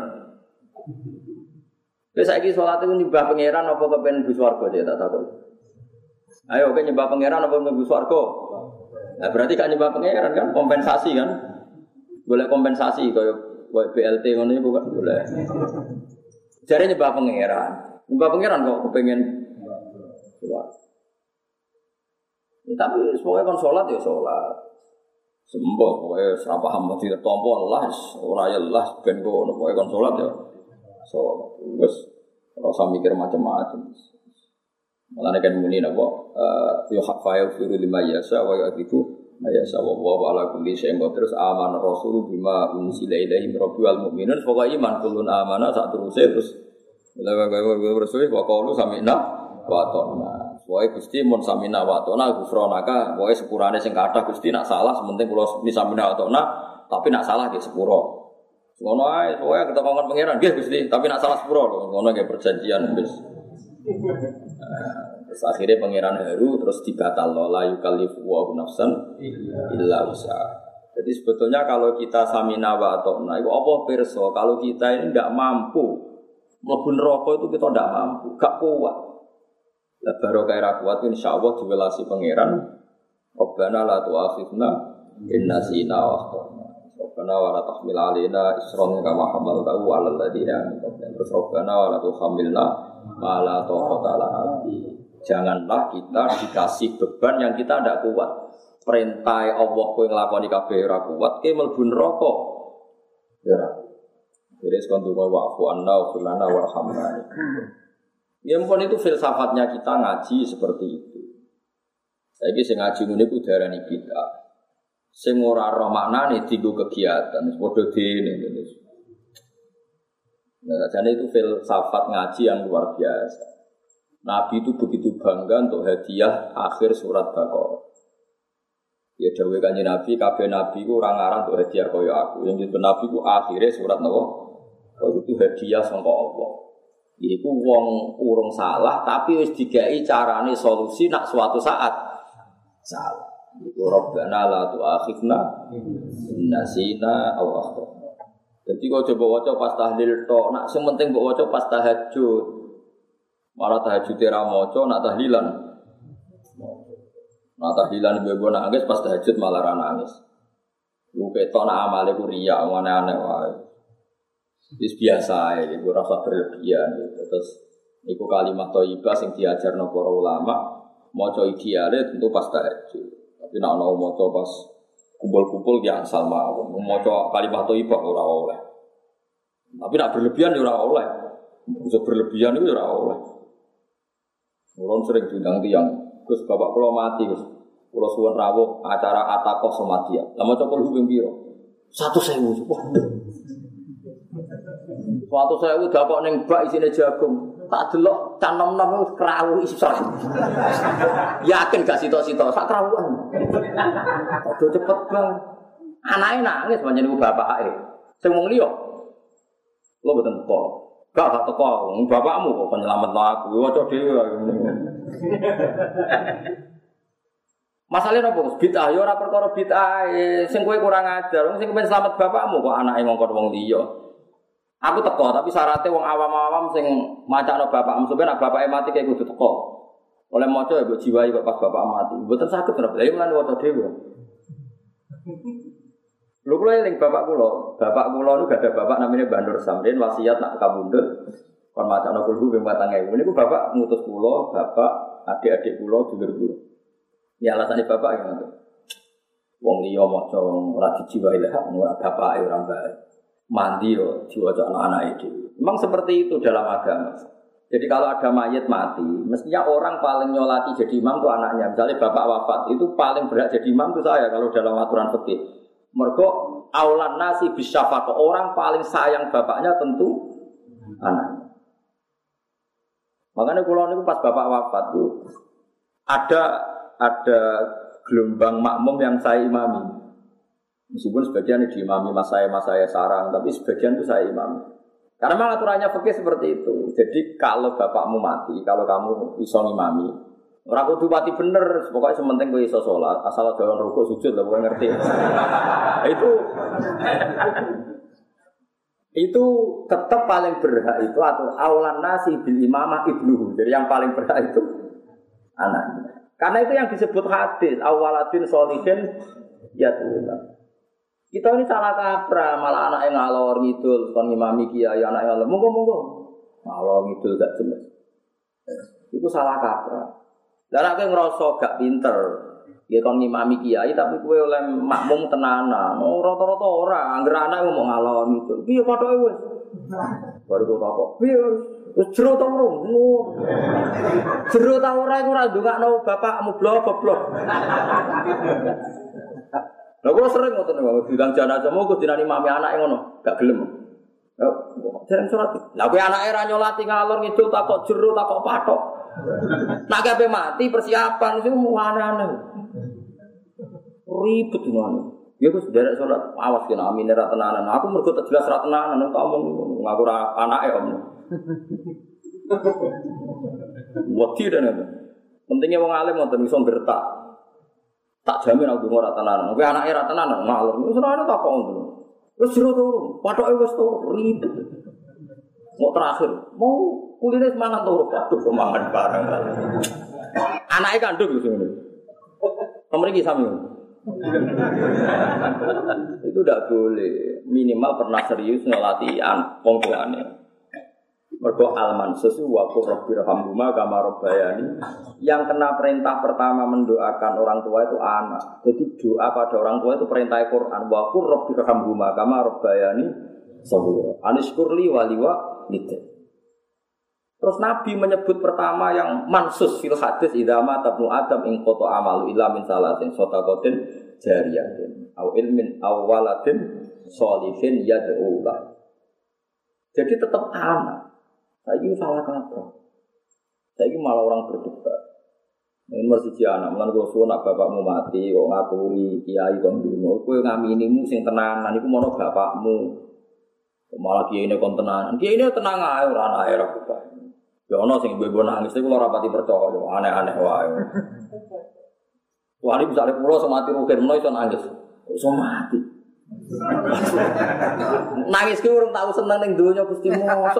Wis saiki salate ku nyembah pangeran apa kepen mlebu swarga cek tak takon. Ayo kowe nyembah pangeran apa mlebu swarga? Nah, berarti kan nyembah pangeran kan kompensasi kan? Boleh kompensasi kaya B L T ngono iku kan boleh. Jare nyembah pangeran. Nyembah pangeran kok kepengen sholat. Ya, tapi pokoknya kon sholat ya sholat. Sembah pokoknya ora paham mesti tampa Allah ora ya Allah ben kok pokoknya kon sholat ya. Sholat. Wis ora usah mikir macam-macam. Mulane kan muni napa ya hafayu fi lima yasa wa yatiku mayasa wa wa ala kulli syai'in terus aman rasul bima unsila ilaihi rabbil mukminin pokoke iman kullun amana sak teruse terus lha rasul wa qalu sami'na wa ata'na pokoke Gusti mun sami'na wa ata'na gufronaka pokoke sepurane sing kathah Gusti nak salah sementing kula ni sami'na wa ata'na tapi nak salah nggih sepuro ngono ae pokoke ketokon pangeran nggih Gusti tapi nak salah sepuro lho ngono nggih perjanjian wis. Terus akhirnya pangeran Heru terus dibatal la yukallifu wa nafsan illa wus'aha. Jadi sebetulnya kalau kita samina wa ta'na itu apa pirsa kalau kita ini tidak mampu mlebu neraka itu kita tidak mampu, gak kuat. Lah barokah ra kuat insyaallah diwelasi pangeran. Rabbana la tu'akhidna in nasina wa akhtana. Rabbana wa la tahmil 'alaina isran kama hamaltahu 'alal ladzina min qablina. Terus Rabbana wa la tuhammilna ma la taqata lana bihi. Janganlah kita dikasih beban yang kita tidak kuat. Perintah Allah kowe nglakoni kabeh ora kuat, kowe mlebu neraka. Ya ora. Jadi sekondu wa'fu anna wa fulana warhamna. Ya ampun itu filsafatnya kita ngaji seperti itu. Saiki sing ngaji ngene ku darani bid'ah. Sing ora ro maknane dienggo kegiatan, padha dene ngene. Nah, jadi itu filsafat ngaji yang luar biasa. Nabi itu begitu bangga untuk hadiah akhir surat Baqarah. Ya dawuh Kanjeng Nabi, kabeh nabi ku ora ngarang untuk hadiah kaya aku. Yang itu nabi ku akhire surat napa? Itu hadiah sangka Allah. Iku wong urung salah tapi wis digawe carane solusi nak suatu saat salah. Iku Rabbana la tu'akhidna in nasina aw akhtana. Jadi kok coba waca pas tahlil tok, nak sing penting mbok waca pas tahajud. Malah tahajud ora maca nak tahlilan. Nak tahlilan bebo nangis pas tahajud malah ra nangis. Lu ketok nak amale ku riya aneh-aneh wae. Wis biasa ae iku rasa berlebihan gitu. Terus iku kalimat thayyibah sing diajarno para ulama, maca ideale tentu pas tahajud. Tapi nak ana maca pas kumpul-kumpul ya asal mawon. Maca kalimat thayyibah ora oleh. Tapi nak berlebihan ya ora oleh. Bisa berlebihan itu ora oleh. Orang sering diundang tiang, Gus bapak kula mati Gus, kula suwun rawuh acara atakoh somatia. Lama cokol hubung biro, satu sewu, waduh, satu sewu dapat neng bak isine jagung, tak delok canom nom itu kerawu isor, yakin gak sito-sito, sak kerawuan, udah cepet bang, anaknya nangis banyak ibu bapak eh, semua liok, lo betul kok. Gak gak teko, bapakmu kok penyelamat aku, waca dhewe. Masalahnya apa? Bid'ah ya ora perkara bid'ah, sing kowe kurang ajar, sing kepen selamat bapakmu kok anake ngongkon wong liya. Aku teko, tapi syaratnya wong awam-awam sing macakno bapakmu, sampeyan nek bapake mati kayak kudu teko. Oleh maca ya mbok jiwai kok pas bapak mati. Mboten saged ora, lha lan waca dhewe. Lho kula eling bapak kula, bapak kula niku gak ada bapak namanya Mbah Nur Samrin wasiat nak kabundut kon macakno kulhu ping patang ewu. Niku bapak ngutus kula, bapak adik-adik kula dulur kula. Ya alasane bapak ya ngono. Wong liya maca ora dijiwahi lah, ora bapake ora mbake. Mandi yo diwaca anak-anake dhewe. Memang seperti itu dalam agama. Jadi kalau ada mayit mati, mestinya orang paling nyolati jadi imam itu anaknya. Misalnya bapak wafat, itu paling berhak jadi imam itu saya kalau dalam aturan fikih. Mergo aulan nasi bisyafaqah, orang paling sayang bapaknya tentu anaknya. Makanya kula niku pas bapak wafat itu ada ada gelombang makmum yang saya imami. Meskipun sebagian diimami mas saya mas saya sarang, tapi sebagian itu saya imami. Karena memang aturannya fikih seperti itu. Jadi kalau bapakmu mati, kalau kamu iso ngimami, ora kudu mati bener, pokoknya sementing kowe iso salat, asal aja rukuk sujud lho kowe ngerti. Itu itu tetap paling berhak itu atau aulan nasi bil imamah ibnuhu. Jadi yang paling berhak itu anaknya. Karena itu yang disebut hadis, awaladin sholihin yatuna. Kita ini salah kaprah, malah anak yang ngalor ngidul, kon ngimami kiai anak yang ngalor, monggo monggo. Ngalor ngidul gak jelas. Itu salah kaprah. Lah nek ngrasa gak pinter, ya kon ngimami kiai tapi kowe oleh makmum tenanan. Oh, rata-rata ora, anggere anak ngomong ngalor ngidul. Piye pathoke wis? Baru kok takok. Piye wis jero ta urung? Jero ta ora iku ora ndongakno bapakmu blok-blok. Lha kula sering ngoten niku, bilang jenazah mau kok dinani mami anake ngono, gak gelem. Yo, jarang salat. Lah kowe anake ra nyolati ngalor ngidul takok jero takok patok. Nak kabeh mati persiapan sing aneh-aneh. Ribet ngono. Ya wis derek salat, awas kena amine ra tenanan. Aku mergo tak jelas ra tenanan tak omong ngaku ra anake om. Wedi tenan. Pentingnya wong alim ngoten iso gertak. Tak jamin aku ora tenanan. Kowe anake ra tenanan ngalor. Wis ora tak kok ngono. Wis jero turu, patoke wis turu, ribet. Mau terakhir, mau kuline semangat turu, aduh semangat bareng. Anake kandung lho ngene. Pemriki sami. Itu tidak boleh. Minimal pernah serius ngelatihan wong tuane. Mergo al-mansus wa qurrabbirhamhuma kama rabbayani. Yang kena perintah pertama mendoakan orang tua itu anak. Jadi doa pada orang tua itu perintah Quran wa qurrabbirhamhuma kama rabbayani shaghira. Anishkurli waliwa lidah. Terus Nabi menyebut pertama yang mansus fil hadis idza mata ibnu adam in qata amalu illa min salatin shadaqatin jariyatin au ilmin aw waladin sholihin yad'u la. Jadi tetap anak. Saiki salah kaprah. Saiki malah orang berdebat. Ini masih anak, mulane kok suwun nak bapakmu mati kok ngaturi kiai kon dungo. Kowe ngaminimu sing tenanan iku mono bapakmu. Malah kiai ini kon tenanan. Kiai ini tenang ae ora anake ra bapak. Ya ana sing ibu-ibu nangis iku ora pati percaya, aneh-aneh wae. Wali misale kula sing mati rugen menawa iso nangis. Iso mati. Nangis ki urung tau seneng ning donya Gusti mosok.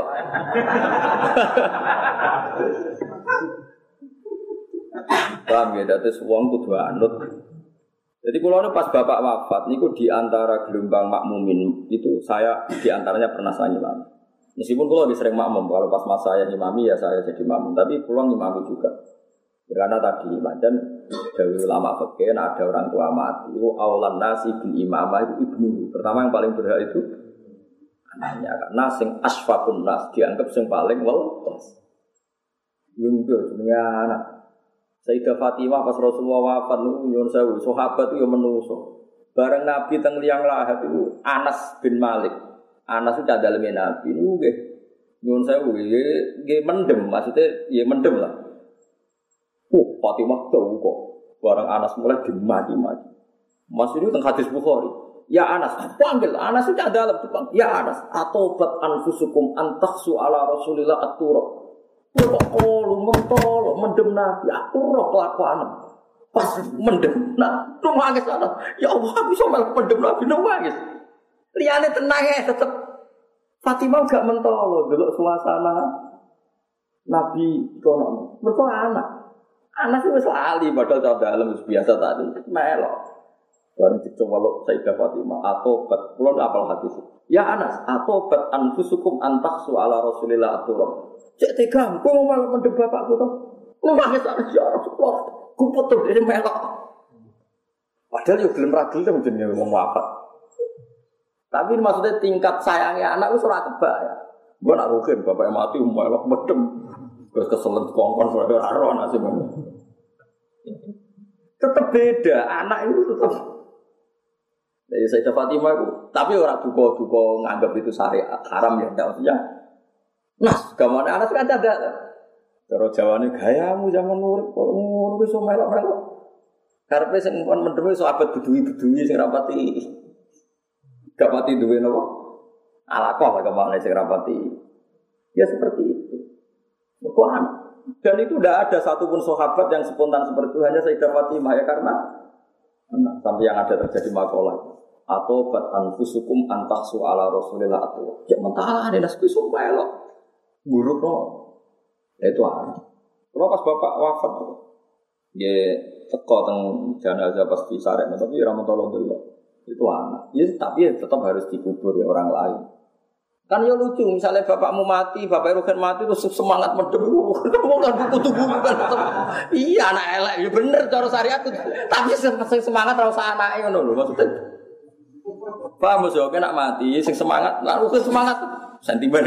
Paham ya, dadi wong kudu anut. Jadi kula pas bapak wafat niku di antara gelombang makmumin itu saya di antaranya pernah saya imam. Meskipun kula lebih sering makmum, kalau pas mas saya imami ya saya jadi makmum, tapi kula imami juga. Karena tadi macam dari ulama fikih ada orang tua mati, itu aulan nasi bil imamah itu ibnu. Pertama yang paling berhak itu anaknya, karena sing asfaqun nas dianggap sing paling welas. Yung jenenge anak. Sayyidah Fatimah pas Rasulullah wafat niku nyuwun sewu, sahabat itu ya menungso. Bareng Nabi teng liang lahat itu Anas bin Malik. Anas itu daleme Nabi niku nggih nyuwun sewu nggih mendem, maksudnya ya mendem lah. Oh, Fatimah tahu kok. Barang Anas mulai dimaki-maki. Mas ini tentang hadis Bukhari. Ya Anas, panggil Anas itu ada dalam depan. Ya Anas, atobat anfusukum antaksu ala Rasulillah at-turab. Kok kalau mentol, mendem Nabi, aku roh kelakuan. Pas mendem, nah, nangis Anas. Ya Allah, bisa malah mendem Nabi, nangis. Liane tenang ya, tetap. Fatimah gak mentol, dulu suasana Nabi kono. Mereka anak. Anak itu lali padahal cowok dalam biasa tadi melok. Baru dicoba lo Sayyidah Fatimah atobat. Pulau apal hadis. Ya Anas atobat anfusukum antaksu ala Rasulillah aturab. Cek tegam. Kau mau malah mendem bapakku tuh. Kau nangis anak siapa tuh? Kau potong dari melok. Padahal yo gelem ra gelem jenenge wong wafat. Tapi maksudnya tingkat sayangnya anak itu ora kebak ya. Gua nak rugen bapaknya mati melok medem. Terus keselet kongkon suara ora nasib. Tetap beda, anak itu tetap. Jadi Sayyidah Fatimah itu, tapi orang duka-duka nganggap itu syariat haram ya, tidak maksudnya. Nas, gamane anak kan ada. Cara Jawane gayamu zaman urip kok ngono wis melok-melok. Karepe sing kon mendem iso abet beduwi-beduwi sing rapati. Gak pati duwe napa? Alaqah kemana sing rapati. Ya seperti itu. Quran. Dan itu tidak ada satupun sahabat yang spontan seperti itu, hanya Sayyidah Fatimah ya karena nah, sampai yang ada terjadi makalah atau bat anfusukum antaksu ala Rasulillah atau ya mentala ada nasbi sumpah lo buruk no itu ada. Kalau pas bapak wafat ya teko teng jenazah pasti sarek tapi ramatullah dulu itu anak. Ya, tapi ya tetap harus dikubur ya orang lain. Kan ya lucu, misalnya bapakmu mati, bapak Rugen mati terus semangat mendem, kamu kan kutu-kutu kan. Iya anak elek, ya bener cara syariat itu. Tapi semangat ora usah anake ngono lho maksudnya. Paham yo kena mati, sing semangat, lalu ke semangat sentimen.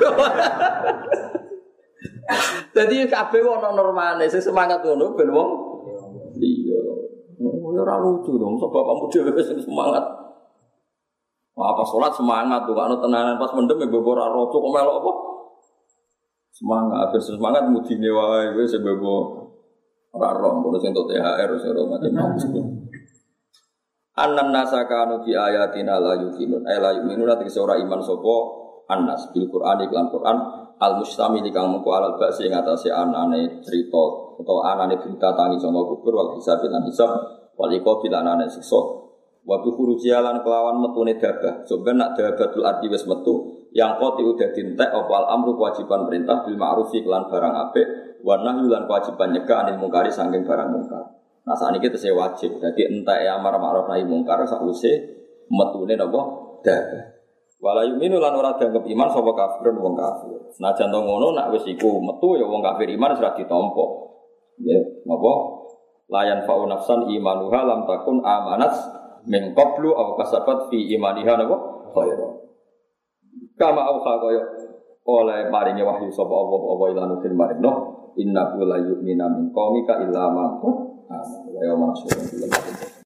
Jadi kabeh ono normane, sing semangat ngono ben wong iya. Ora lucu dong, sebab bapakmu dhewe sing semangat. Wah, pas sholat semangat tuh, kalau tenanan pas mendem ya bebo raro tuh, kok melok apa? Semangat, terus semangat mudine wae, gue sebebo raro, kalau sih untuk T H R, saya macam-macam. Anan nasakanu di ayatina la yukinun, eh la yukinun nanti seorang iman sopo anas bil Quran iklan Quran al mustami di kang mengko alal basi ngatasi anane cerita atau anane berita tangi sama kubur wal hisab lan hisab wal iqab lan anane siksa. Waktu kurujialan kelawan metune dabah, sebenarnya nak dabatul arti wes metu, yang koti udah dintek opal amru kewajiban perintah bil ma'rufi kelan barang apik, warna yulan kewajiban nyegah anil mungkari saking barang mungkar. Nah saat ini kita saya wajib, jadi entek ya amar ma'ruf nahi mungkar sakwise metune napa dabah. Walayu minu lan ora dianggap iman sapa kafir wong kafir. Senajan to ngono nak wis iku metu ya wong kafir iman wis ra ditampa. Ya, napa? Layan fa'u nafsan imanuha lam takun amanat min qablu aw kasabat fi imaniha napa khairan kama au kaya oleh maringe wahyu sapa Allah apa ilanu fil marino inna la yu'minu min qaumika illa man amana wa yawma nasrul